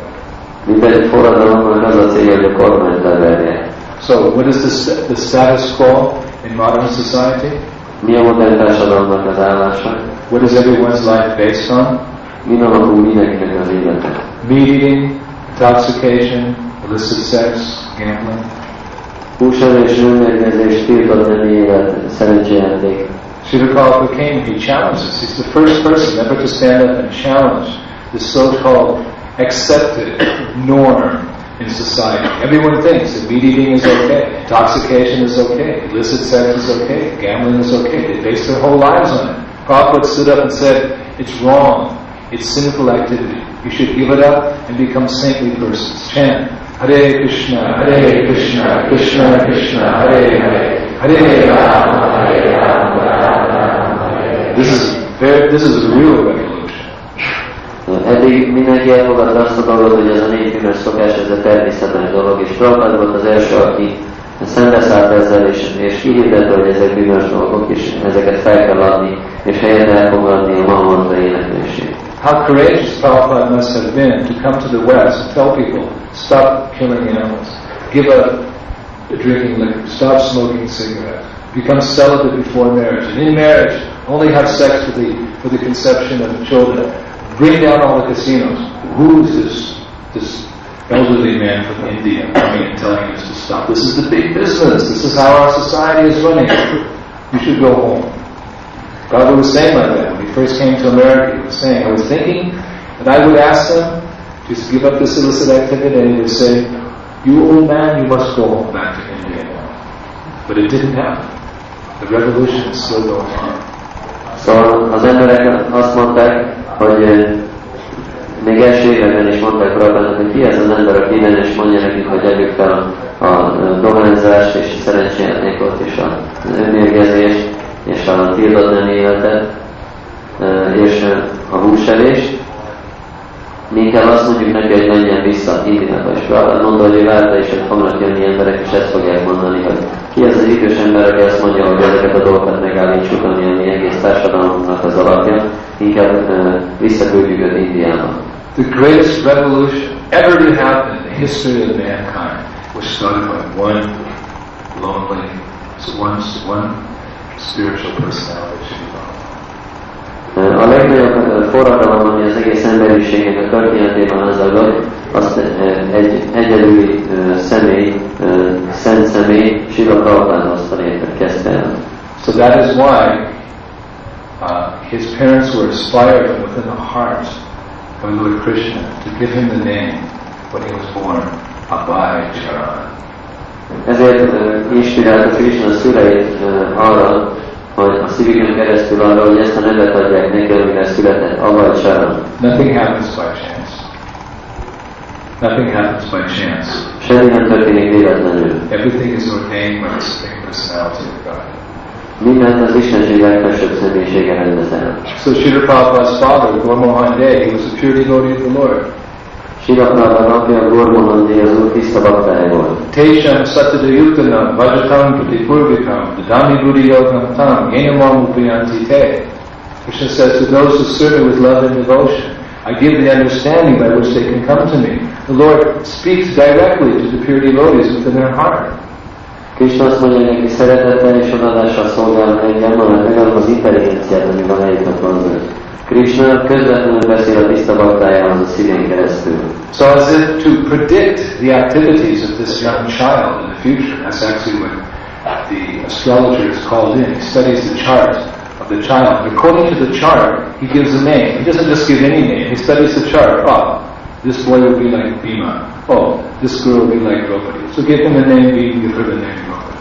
Minden egy forradalomnak az a célja, hogy a kormányt leverje. So, what is the, the status quo in modern society? Mi a modern társadalomnak az állása? What is everyone's life based on? Min alapul mindenkinek az élete? Meat eating, intoxication, illicit sex, gambling. Húsevés, nőmérgezés, tiltott nemi élet, szerencsejáték. Srila Prabhupada came, he challenged us. He's the first person ever to stand up and challenge the so-called accepted norm in society. Everyone thinks that meat eating is okay, intoxication is okay, illicit sex is okay, gambling is okay. They base their whole lives on it. Prabhupada stood up and said, it's wrong, it's sinful activity. You should give it up and become saintly persons. Chant, Hare Krishna, Hare Krishna, Krishna Krishna, Hare Hare, Hare Rama, Hare Rama, Rama Hare. This is very, this is a real revolution. Eddig mindenki elfogadta azt a dolgot, hogy ez a népbűnös szokás, ez a természetes dolog, és Prabhupada volt az első, aki szembeszállt ezzel, és, és kihirdette, hogy ezek bűnös dolgok, és ezeket fel kell adni, és helyette elfogadni a Mahamantra éneklését. How courageous Prabhupada must have been to come to the West and tell people, stop killing animals, give up drinking liquor, stop smoking cigarettes, become celibate before marriage, and in marriage, only have sex for the, for the conception of children. bring down all the casinos. Who is this, this elderly man from India coming and telling us to stop? This is the big business. This is how our society is running. You should go home. Prabhupada was saying like that when he first came to America. He was saying, I was thinking that I would ask them to give up this illicit activity, and he would say, you old man, you must go home back to India now. But it didn't happen. The revolution is still going on. Szóval az emberek azt mondták, hogy még első években is mondták Prabhupádnak, hogy ki ez az ember, aki innen, és mondja nekünk, hogy együk fel a, a dohányzást, és a szerencséjátékot, és az önmérgezést, és a tiltott nem életet, és a húsevést. Mi inkább azt mondjuk neki, hogy menjen vissza Indiába, és Prabhupád mondta, hogy ő várta is, hogy fognak jönni emberek, és ezt fogják mondani, hogy ki az az idős ember, aki azt mondja, hogy ezeket a dolgokat megállítsuk, ami a mi egész társadalomnak az alapja, inkább uh, visszaküldjük őt Indiába. The greatest revolution ever to happen in the history of mankind was started by one lonely, one, one spiritual personality. A legnagyobb forradalom, ami az egész emberiségnek a történetében az adott, azt egy egyedüli uh, személy, uh, szent személy, Srila Prabhupád hozta létre, kezdte el. So that is why uh, his parents were inspired from within the heart of Lord Krishna to give him the name when he was born, Abhay Charan. Ezért uh, inspirálta Krishna szüleit uh, arra, hogy a szívükön keresztül arra, hogy ezt a nevet adják neki, amire született, Abhay Charan. Nothing happens by chance. Nothing happens by chance. Semmi nem történik véletlenül. Everything is ordained by the Supreme Personality of God. Mindent az Istenség legfelsőbb személyisége rendez el. So Srila Prabhupada's father, Gaur Mohan Dey, he was a pure devotee of the Lord. Srila Prabhupada apja Gaur Mohan Dey az Úr tiszta baktája volt. Tesham Satyadayutanam, Vajatam Pratipurvikam, Dadami Buddhi Yogam Tam, Yenamam Upayanti Te. Krishna says to those who serve me with love and devotion, I give the understanding by which they can come to me. The Lord speaks directly to the pure devotees within their heart. Krishna azt mondja, neki szeretettel és odadással szolgál engem, mert megadom az intelligenciát, ami van eljutnak hozzá. Krishna közvetlenül beszél a tiszta baktájához a szívén keresztül. So as if to predict the activities of this young child in the future, that's actually what the astrologer is called in. He studies the chart of the child. According to the chart, he gives a name. He doesn't just give any name. He studies the chart. Oh, this boy will be like Bhima. Oh, this girl will be like Draupadi. So give him the name Bhima, give her the name Draupadi.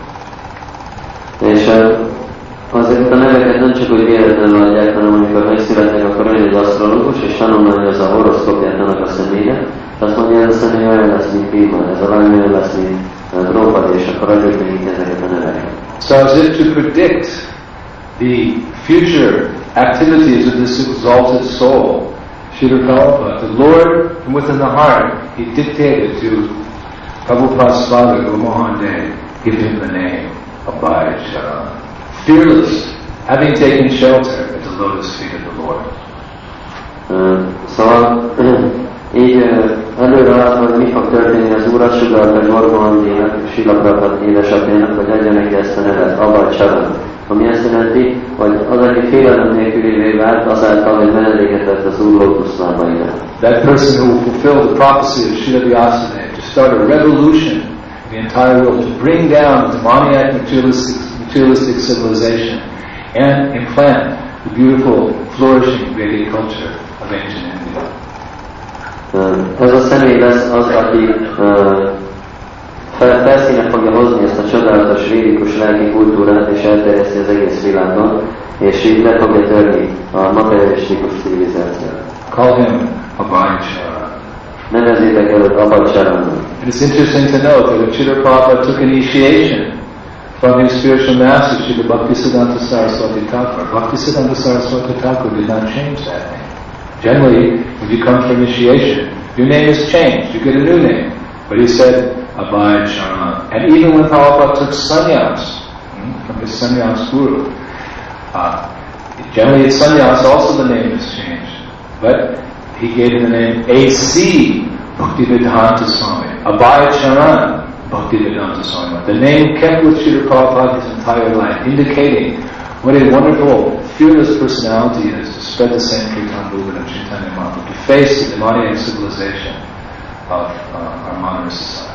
És azért a neveket nem csak úgy véletlenül adják, hanem amikor megszületnek, akkor olyan az asztrológus, és tanulmányozza a horoszkópját annak a személyre, és azt mondja, ez a személy olyan lesz, mint Bhima, ez a lány olyan lesz, mint Draupadi, és akkor adjuk nekik ezeket a neveket. So as if to predict the future activities of this exalted soul, Srila Prabhupada, the Lord from within the heart, he dictated to Prabhupada's father, Gaur Mohan Dey, give him the name Abhay Charan. Fearless, having taken shelter at the lotus feet of the Lord. Uh, szóval így előre látva, hogy mi fog történni, az Úr azt sugallta Gaur Mohan Deynek, Srila Prabhupada édesapjának, hogy adja neki ezt a nevet, Abhay Charan. Ami azt jelenti, hogy az, aki félelem nélkülévé vált, azáltal, hogy menedéket vett az Úr lótuszlábainál. That person who will fulfill the prophecy of Srila Vyasadeva to start a revolution in the entire world, to bring down the demoniac materialistic, materialistic civilization and implant the beautiful, flourishing Vedic culture of ancient India. Ez a személy lesz az, aki uh, felszíne fogja hozni ezt a csodálatos, védikus lelki kultúrát, és elterjeszti az egész világon, és így le fogja törni a materialistikus civilizációt. Call him Abhay Charan. Nevezzétek előtt Abhay Charannak. And it's interesting to note that when Srila Prabhupada took initiation from his spiritual master, Srila Bhaktisiddhanta Saraswati Thakur, Bhaktisiddhanta Saraswati Thakur did not change that name. Generally, when you come for initiation, your name is changed, you get a new name. But he said, Abhay Charan. And even when Prabhupada took sannyas hmm, from his sannyas guru, uh, generally at sannyas also the name is changed. But he gave him the name A C Bhaktivedanta Swami, Abhay Charan Bhaktivedanta Swami. The name kept with Srila Prabhupada his entire life, indicating What a wonderful, fearless personality it is to spread the Sankirtan movement of Chaitanya Mahaprabhu, to face the demoniac civilization of uh, our modern society.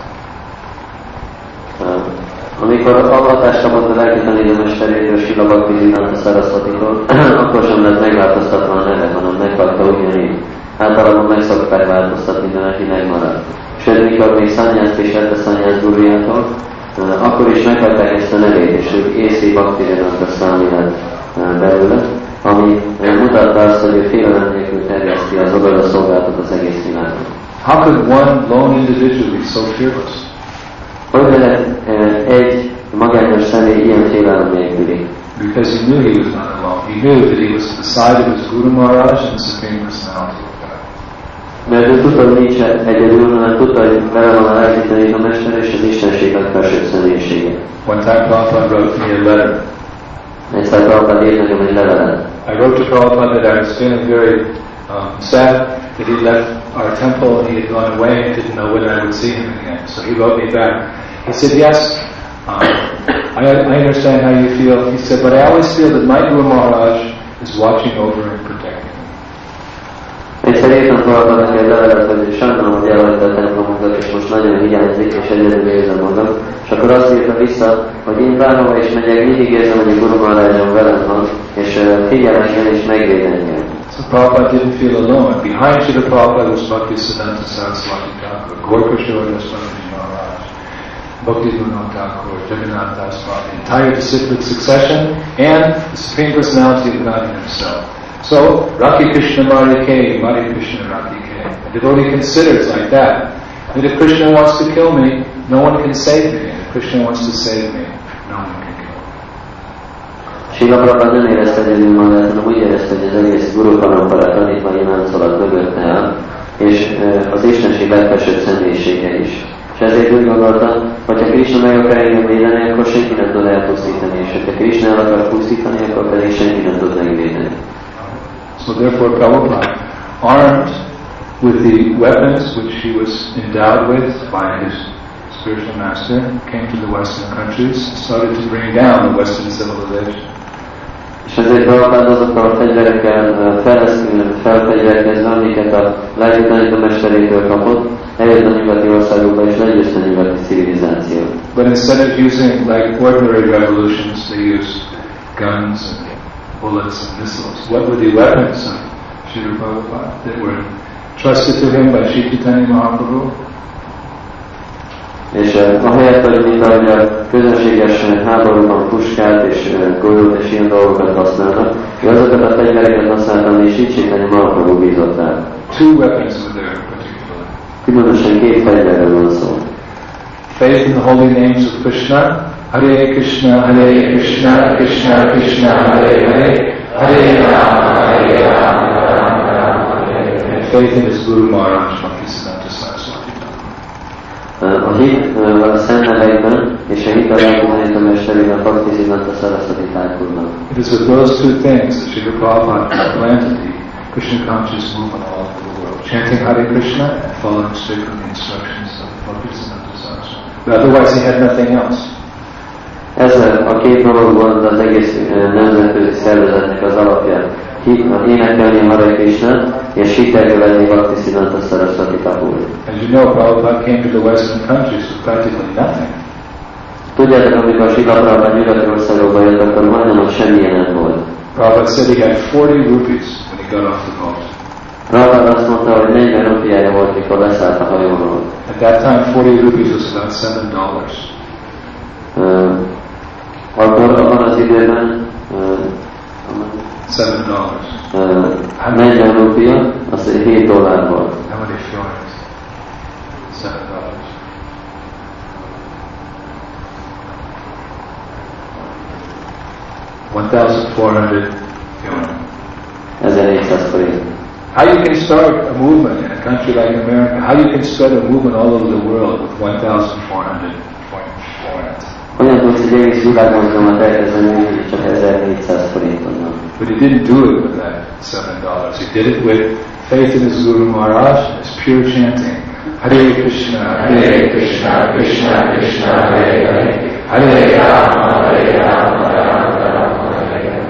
Amikor avatást kapott a lelki tanítómesterétől, Srila Bhaktisiddhanta Sarasvatitól, akkor sem lett megváltoztatva a neve, hanem meghagyta ugyanígy. Általában meg szokták változtatni, de neki megmaradt. Sőt, mikor még szanyászt és lett a szanyász gurujától, akkor is meghagyták ezt a nevét, és ők á cé Bhaktisiddhanta Swami lett belőle, ami mutatta azt, hogy ő félelem nélkül terjeszti az oda szolgáltat az egész világon. How could one lone individual be so fearless? Hogy lehet egy magányos személy ilyen félelem nélküli? Because he knew he was not alone. He knew that he was at the side of his Guru Maharaj and the Supreme Personality of God. Mert ő tudta, hogy nincs egyedül, hanem tudta, hogy vele van a lelki tanítómester és az Istenség legfelsőbb személyisége. One time Prabhupada wrote me a letter. Egyszer Prabhupada írt nekem egy levelet. I wrote to Prabhupada that I was feeling very um, sad that he left our temple and he had gone away and didn't know when I would see him again. So he wrote me back. He said, yes, um, I, I understand how you feel. He said, but I always feel that my Guru Maharaj is watching over and protecting me. Egyszer írtam Prabhupada neki egy levelet, hogy sajnálom, hogy elhagyta a templomunkat, és most nagyon hiányzik, és egyedül érzem magam. És akkor azt írta vissza, hogy én bárhova is megyek, mindig érzem, hogy a Guru Maharajom velem van, és figyel engem és megvéd engem. So Prabhupada didn't feel alone. Behind Srila Prabhupada was Bhaktisiddhanta Saraswati Thakur, Gorkashora Swami Maharaj, Bhaktivinoda Thakur, Jagannath Das Bhatt, the entire disciplic succession, and the Supreme Personality of God himself. So, Rakhi Krishna Mari Ke, Mari Krishna Rakhi Ke. A devotee considers like that, that if Krishna wants to kill me, no one can save me. And if Krishna wants to save me, no one can kill me. Srila Prabhupada nem érezte egyedül magát, hanem úgy érezte, hogy az egész Guru Parampara tanítványi láncolat mögötte áll, és az Istenség legfelsőbb személyisége is. És ezért úgy gondolta, hogy ha Krishna meg akar engem védeni, akkor senki nem tud elpusztítani, és ha Krishna el akar pusztítani, akkor pedig senki nem tud megvédeni. So therefore Prabhupada, armed with the weapons which he was endowed with by his spiritual master, came to the Western countries and started to bring down the Western civilization. És ezért Prabhupada azokkal a fegyverekkel felfegyverkezve, amiket a lelki tanítómesterétől kapott, eljött a nyugati országokba és legyőzte a nyugati civilizációt. But instead of using like ordinary revolutions, they used guns and bullets and missiles. What were the weapons of Srila Prabhupada that were trusted to him by Sri Chaitanya Mahaprabhu? És uh, ahelyett, hogy mint ahogy a közönséges háborúban puskát és uh, golyót és ilyen dolgokat használnak, ő azokat a fegyvereket használtam, és Sri Chaitanya Mahaprabhu bízott rá. Two weapons were there particularly. Különösen két fegyverről van szó. Faith in the holy names of Krishna, Hare Krishna, Hare Krishna, Krishna Krishna, Hare Hare, Hare Rama, Hare Rama, Rama Rama, Hare Hare. And faith in his Guru Maharaj, Bhaktisiddhanta Saraswati Thakur. A hit a szent nevekben, és a hit a lelki tanítómesterében Bhaktisiddhanta Saraswati Thakurnak. It is with those two things that Srila Prabhupada planted the Krishna conscious movement all over the world, chanting Hare Krishna and following strictly the instructions of Bhaktisiddhanta Saraswati. But otherwise he had nothing else. Ez a két dolog volt az egész nemzetközi szervezetnek az alapja. Énekelni a Hare Krishnát, és hitelkövetni Bhaktisiddhanta Saraswati Thakur. As you know, Prabhupada came to the Western countries with practically nothing. Tudjátok, amikor Srila Prabhupada nyugati országokba jött, akkor majdnem semmilyen nem volt. Prabhupada said he had forty rupees when he got off the boat. Prabhupada azt mondta, hogy negyven rupiája volt, mikor leszállt a hajóról. At that time, forty rupees was about seven dollars. Uh, akkor abban az időben uh, Seven dollars. Uh, negyven rupia, az hét dollár volt. How many florins? Seven dollars. One thousand four hundred florins. ezernégyszáz forint. How you can start a movement in a country like America? How you can spread a movement all over the world with one thousand four hundred florins? Olyan tudsz egy egész világmozgalmat elkezdeni, csak ezernégyszáz forinton van. But he didn't do it with that seven dollars. He did it with faith in his Guru Maharaj and his pure chanting. Hare Krishna, Hare Krishna, Krishna Krishna, Hare Hare, Hare Rama, Hare Rama, Rama Rama, Hare Hare.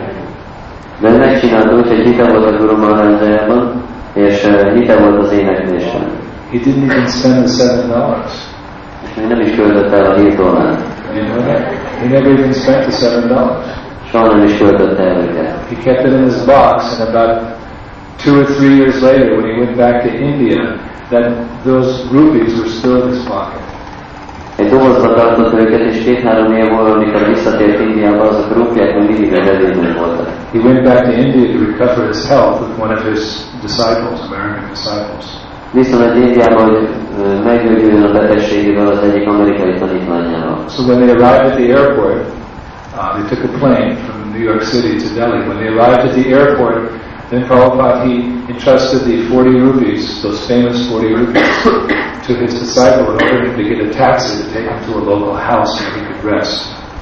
De ő megcsinálta úgy, hogy hite volt a Guru Maharajában, és uh, hite volt az éneklésben. He didn't even spend the seven dollars. És még nem is költött el a hét dollárt. You know that? He never even spent the seven dollars. Soha nem is költött el őket. He kept it in his box, and about two or three years later, when he went back to India, that those rupees were still in his pocket. Egy dobozba tartott őket, és két-három év múlva, amikor visszatért Indiába, azok a rupiák még mindig a zsebében voltak. He went back to India to recover his health with one of his disciples, American disciples. Visszament Indiába, hogy meggyógyuljon a betegségéből az egyik amerikai tanítványával. So when they arrived at the airport, uh, they took a plane from New York City to Delhi. When they arrived at the airport, then Prabhupada, he entrusted the forty rupees, those famous forty rupees, to his disciple in order to get a taxi to take him to a local house where he could rest.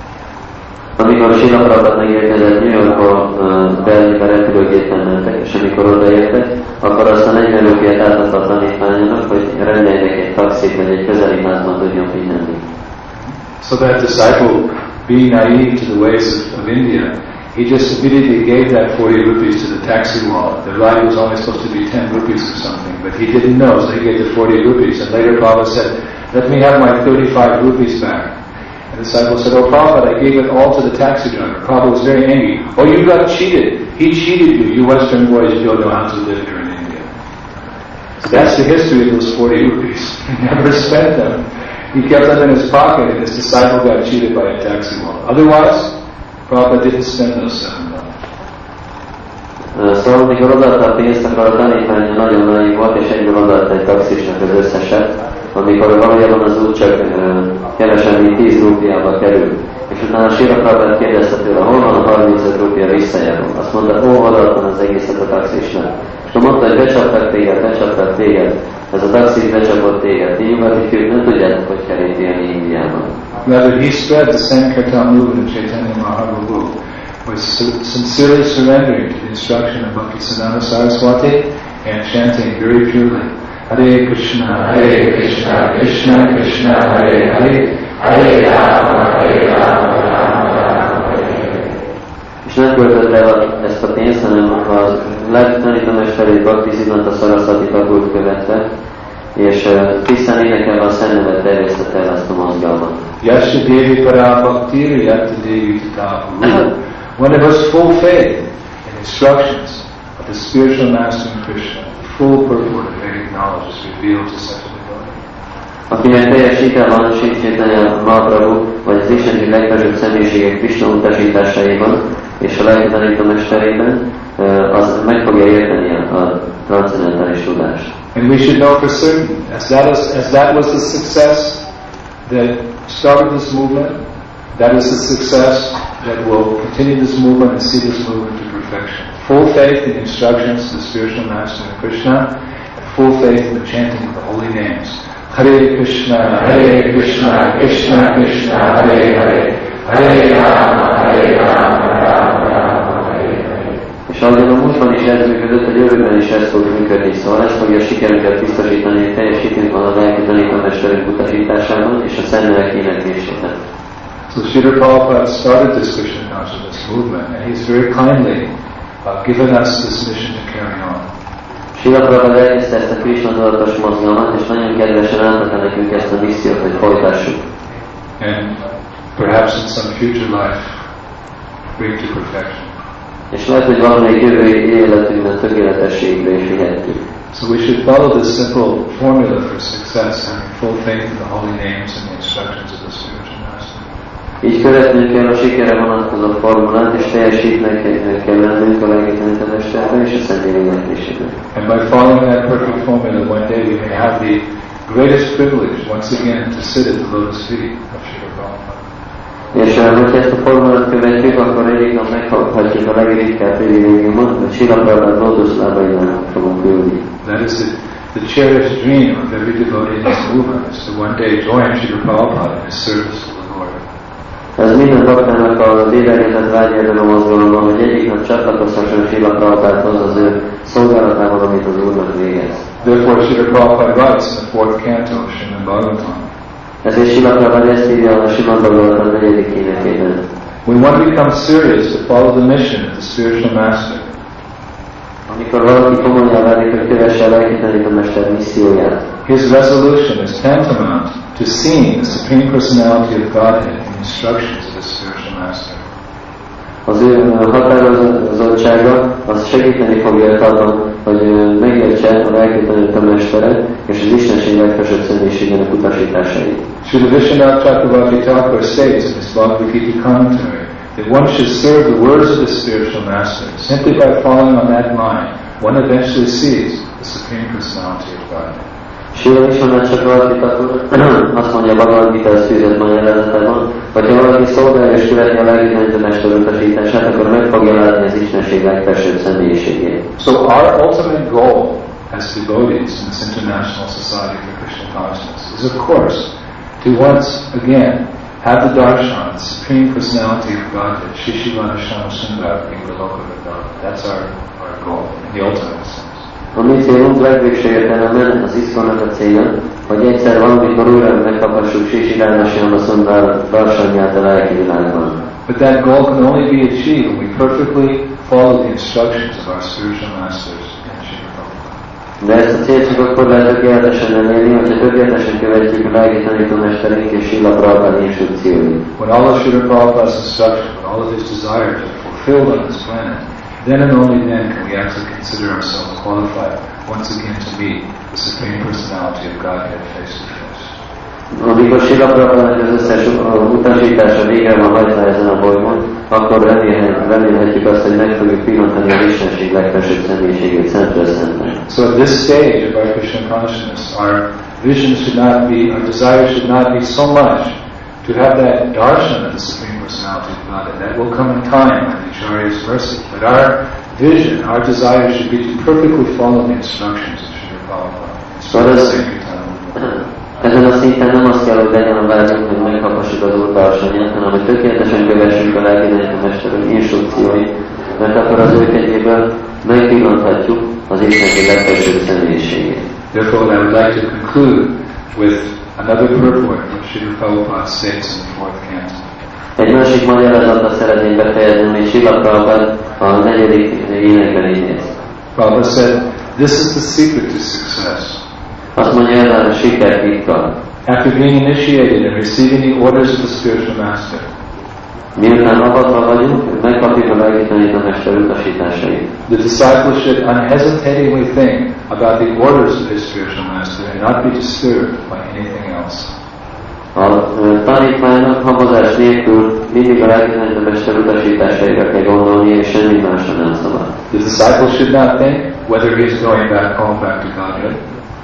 Amikor Srila Prabhupada megérkezett New Yorkba, uh, Delhibe repülőgépen mentek, és amikor odaértek, akkor azt a negyven rupiát átadta a tanítványának, hogy rendeljenek egy taxit, vagy egy közeli házban tudjon pihenni. So that disciple, being naive to the ways of, of India, he just immediately gave that forty rupees to the taxi wallet. The ride was only supposed to be ten rupees or something, but he didn't know, so he gave the forty rupees. And later Prabhupada said, let me have my thirty-five rupees back. And the disciple said, oh Prabhupada, I gave it all to the taxi driver. Prabhupada was very angry. Oh, you got cheated. He cheated you. You Western boys, you don't know how to live here in India. So that's the history of those forty rupees. He never spent them. He kept them in his pocket, and his disciple got cheated by a taxi wallet. Otherwise, Prabhupada didn't spend those seven dollars. Szóval, amikor odaadta a pénzt, akkor a tanítvány nagyon nagy volt, és egyből odaadta egy taxisnak az összeset, amikor valójában az út csak uh, kevesen, mint tíz rúpiába kerül. És utána Srila Prabhupada kérdezte tőle, hol van a harmincöt rúpia visszajáró? Azt mondta, ó, odaadtam az egészet a taxisnak. És akkor mondta, hogy becsaptak téged, becsaptak téged, ez a taxis becsapott téged. Ti nyugati fiúk nem tudjátok, hogy kell itt élni Indiában. Rather, he spread the Sankirtan movement of Chaitanya Mahaprabhu, was sincerely surrendering to the instruction of Bhaktisiddhanta Saraswati and chanting very purely, Hare Krishna, Hare Krishna, Krishna Krishna, Hare Hare, Hare Rama, Hare Rama, Rama Rama, Hare Hare. És nem költött el ezt a pénzt, hanem a tanítómesterét Bhaktisiddhanta Saraswati Thakurt követve, és uh, tisztán énekelve a Szentnevet terjesztette el ezt a mozgalmat. Yasha Devi Para Bhaktiri Yatta Devi Tata Guru. When there was full faith and instructions of the spiritual master in Krishna, the full purport of Vedic knowledge is revealed to such a devotee. Akinek teljes hite van Sri Chaitanya Mahaprabhu, vagy az isteni legfelsőbb személyiségek Krishna utasításaiban és a lelki tanítómesterében, az meg fogja érteni a transzendentális tudást. And we should know for certain, as that, is, as that was the success that started this movement, that is the success that will continue this movement and see this movement to perfection. Full faith in instructions of the spiritual master of Krishna, and full faith in the chanting of the holy names. Hare Krishna, Hare Krishna, Krishna Krishna, Hare Hare, Hare Rama, Hare Rama, Rama Rama, Hare Hare. És ahogyan a múltban is ez működött, a jövőben is ez fog működni, szóval ez fogja sikerünket biztosítani, hogy teljes hitünk van a lelki tanítómesterünk utasításában és a Szentnevek éneklésében. So Srila Prabhupada started this Krishna consciousness movement, and he's very kindly uh, given us this mission to carry on. Srila Prabhupada elkezdte ezt a Krishna tudatos mozgalmat, és nagyon kedvesen átadta nekünk ezt a missziót, hogy folytassuk. And perhaps in some future life, bring to perfection. És lehet, hogy valamelyik jövő életünkben tökéletességre is vihetjük. So we should follow this simple formula for success, having full faith in the holy names and the instructions of the spiritual master. Így követnünk kell a sikere vonatkozó formulát, és teljes hitnek kell lennünk a lelki tanítómesterben és a Szent éneklésében. And by following that perfect formula, one day we may have the greatest privilege once again to sit at the lotus feet of Srila Prabhupada. És hogyha ezt a formulát követjük, akkor egyik nap megkaphatjuk a legritkább privilégiumot, hogy Srila Prabhupada lótuszlábainál fogunk ülni. That is the, the cherished dream of every devotee in this movement, is to one day join Srila Prabhupada in his service to the Lord. Ez minden baktának az édelgetett vágya ebben a mozgalomban, hogy egyik nap csatlakozhasson Srila Prabhupádhoz az ő szolgálatában, amit az Úrnak végez. Therefore, Srila Prabhupada writes in the fourth canto of Srimad Bhagavatam. Ezért Srila Prabhupada ezt írja a Srimad Bhagavatam negyedik énekében. When one becomes serious to follow the mission of the spiritual master, amikor valaki komolyan válik, hogy kövesse a lelki mester misszióját, his resolution is tantamount to seeing the Supreme Personality of Godhead in the instructions of the spiritual master. Az ő határozottsága az segíteni fogja őt abban, hogy megértse a lelki tanító-mesteret és az Istenség legfelsőbb személyiségének utasításait. Srila Vishwanath Chakravarti Thakur states in his Bhagavad Gita commentary that one should serve the words of the spiritual master. Simply by following on that line, one eventually sees the Supreme Personality of God. Srila Vishwanath Chakravarti Thakur azt mondja a Bhagavad Gita szűzött magyarázatában, hogy ha valaki szolgálja és követni a lelki tanító-mester utasítását, akkor meg fogja látni az Istenség legfelsőbb személyiségét. So our ultimate goal as devotees in this International Society for Krishna Consciousness is, of course, to once again have the darshan, the Supreme Personality of Godhead, Shishivana Shamsundar, in the local God. That's our, our goal, in the ultimate sense. A mi célunk legvégső értelemben az iszkonnak a célja, hogy egyszer valamikor újra megkaphassuk Shishivana Shamsundar darsanját a lelki világban. But that goal can only be achieved when we perfectly follow the instructions of our spiritual masters in Srila Prabhupada. De ezt a célt csak akkor lehet tökéletesen elérni, hogyha tökéletesen követjük a lelki tanítómesterünk és Srila Prabhupada instrukcióit. When all of Srila Prabhupada's instructions, when all of his desires are fulfilled on this planet, then and only then can we actually consider ourselves qualified once again to meet the Supreme Personality of Godhead face to face. Amikor Srila Prabhupada az összes utasítása végre van hajtva ezen a bolygón, akkor remélhetjük azt, hogy meg fogjuk pillantani az Istenség legfelsőbb személyiségét szemtől szemben. So at this stage of our Krishna consciousness, our vision should not be, our desire should not be so much to have that darshan of the Supreme Personality of God, and that will come in time by the Acharya's mercy. But our vision, our desire should be to perfectly follow the instructions of Srila Prabhupada. So ezen a szinten nem azt kell, hogy legyen a vágyunk, hogy megkaphassuk az Úr darsanyát, hanem hogy tökéletesen kövessünk a lelki tanítómesterünk instrukcióit, mert akkor az ő kegyéből megpillanthatjuk az Istenség legfelsőbb személyiségét. Therefore, I would like to conclude with another purport which Srila Prabhupada states in the fourth canto. Egy másik magyarázattal szeretném befejezni, hogy Srila Prabhupada a negyedik énekben így néz. Prabhupada said, this is the secret to success. Azt mondja, ez a siker titka. After being initiated and receiving the orders of the spiritual master, miután avatva vagyunk, megkapjuk a lelki tanítómester utasításait. The disciple should unhesitatingly think about the orders of his spiritual master and not be disturbed by anything else. A tanítványnak habozás nélkül mindig a lelki tanítómester utasításaira kell gondolni, és semmi másra nem szabad. The disciple should not think whether he is going back home, back to Godhead.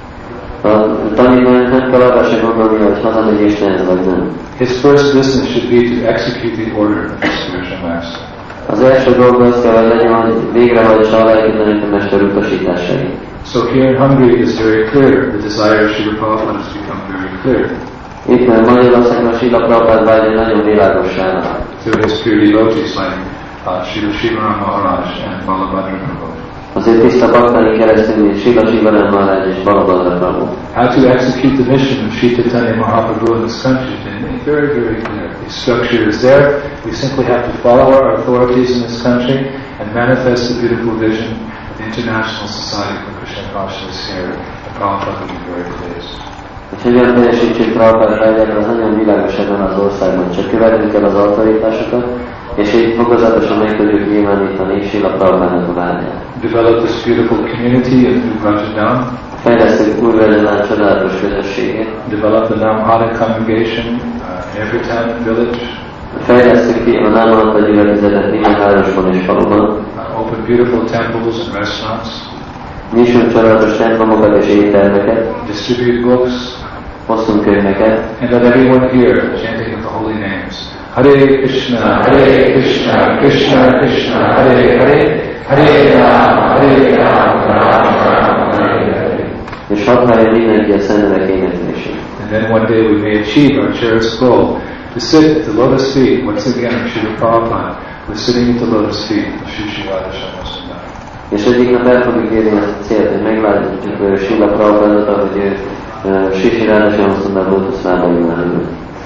A tanítványnak nem kell arra se gondolni, hogy hazamegy Istenhez vagy nem. His first business should be to execute the order of the spiritual master. Az első dolga az kell, hogy legyen, hogy végrehajtsa a lelki tanítómester utasításait. So here in Hungary it is very clear, the desire of Srila Prabhupada has become very clear. Itt mert Magyarországon Srila Prabhupada vágya nagyon világossá vált. To his pure devotees like uh, Srila Shivaram Maharaj and Balabhadra Prabhu. Azért tiszta baktáni keresztül, mint Srila Shivaram Maharaj és Balabhadra Prabhu. How to execute the mission of Sri Chaitanya Mahaprabhu in this country is very, very clear. The structure is there. We simply have to follow our authorities in this country and manifest the beautiful vision of the International Society for Krishna Consciousness here. And Prabhupada will be very pleased. Hogy hogyan teljesítsük Prabhupada vágyára, az nagyon világos ebben az országban. Csak követnünk kell az autoritásokat, és így fokozatosan meg tudjuk nyilvánítani Srila Prabhupada vágyát. Develop this beautiful community of New Rajadam. Fejlesztünk új Rajadam csodálatos közösségét. Develop the Namhada congregation uh, in every town and village. Fejlesztünk ki a Namhada gyülekezetet minden városban és faluban. Uh, open beautiful temples and restaurants. Nyissunk csodálatos templomokat és éttermeket. Distribute books. Hosszunk könyveket. And let everyone hear the chanting of the holy names. Hare Krishna, Hare Krishna, Krishna Krishna, Hare Hare, Hare Rama, Hare Rama, Rama Rama, Hare Hare. És hadd hallja mindenki a szentelek éneklését. And then one day we may achieve our cherished goal to sit at the lotus feet once again of Srila Prabhupada. We're sitting at the lotus feet of Sri Shivada Shamsundar. És egyik nap el fogjuk érni ezt a célt, hogy meglátjuk Srila Prabhupada, hogy ő Sri Shivada Shamsundar lótuszlába ül.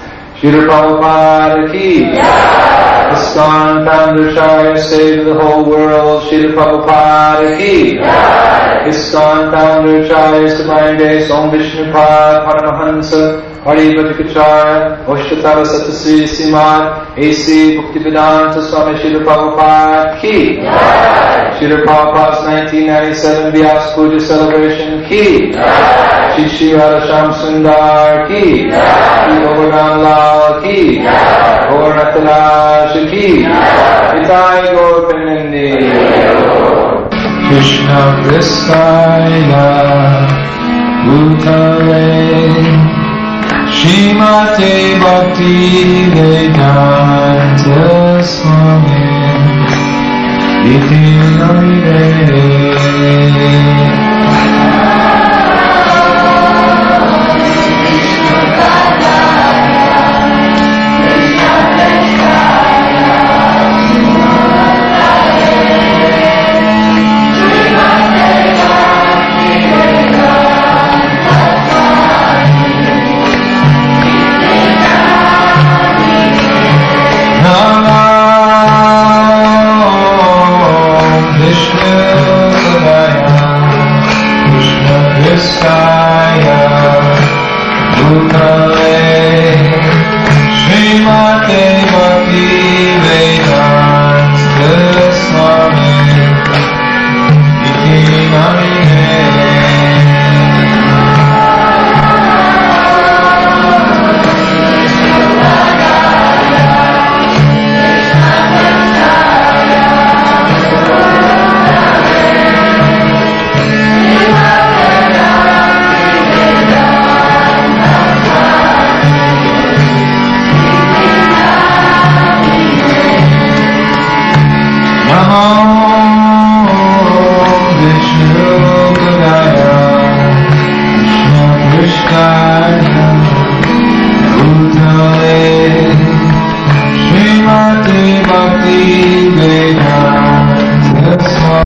Srila Prabhupada ki jai. ISKCON founder Acharya saved the whole world. Srila Prabhupada ki jai. ISKCON founder Acharya Divine Grace Om Vishnu Pad Paramahansa Paribhatikacharya Oshtatara Satasri Simad A C Bhaktivedanta Swami Srila Prabhupada ki jai. Srila Prabhupada's nineteen ninety-seven Vyas Puja celebration ki jai. Shri Shri Radha Sundar ki jai. Shri Govardhan Lal ki jai. Gaur ki jai. Nitai Gaur Pinandi Krishna Kristaya Bhutale Srimate Bhakti Vedanta Swami Iti Namine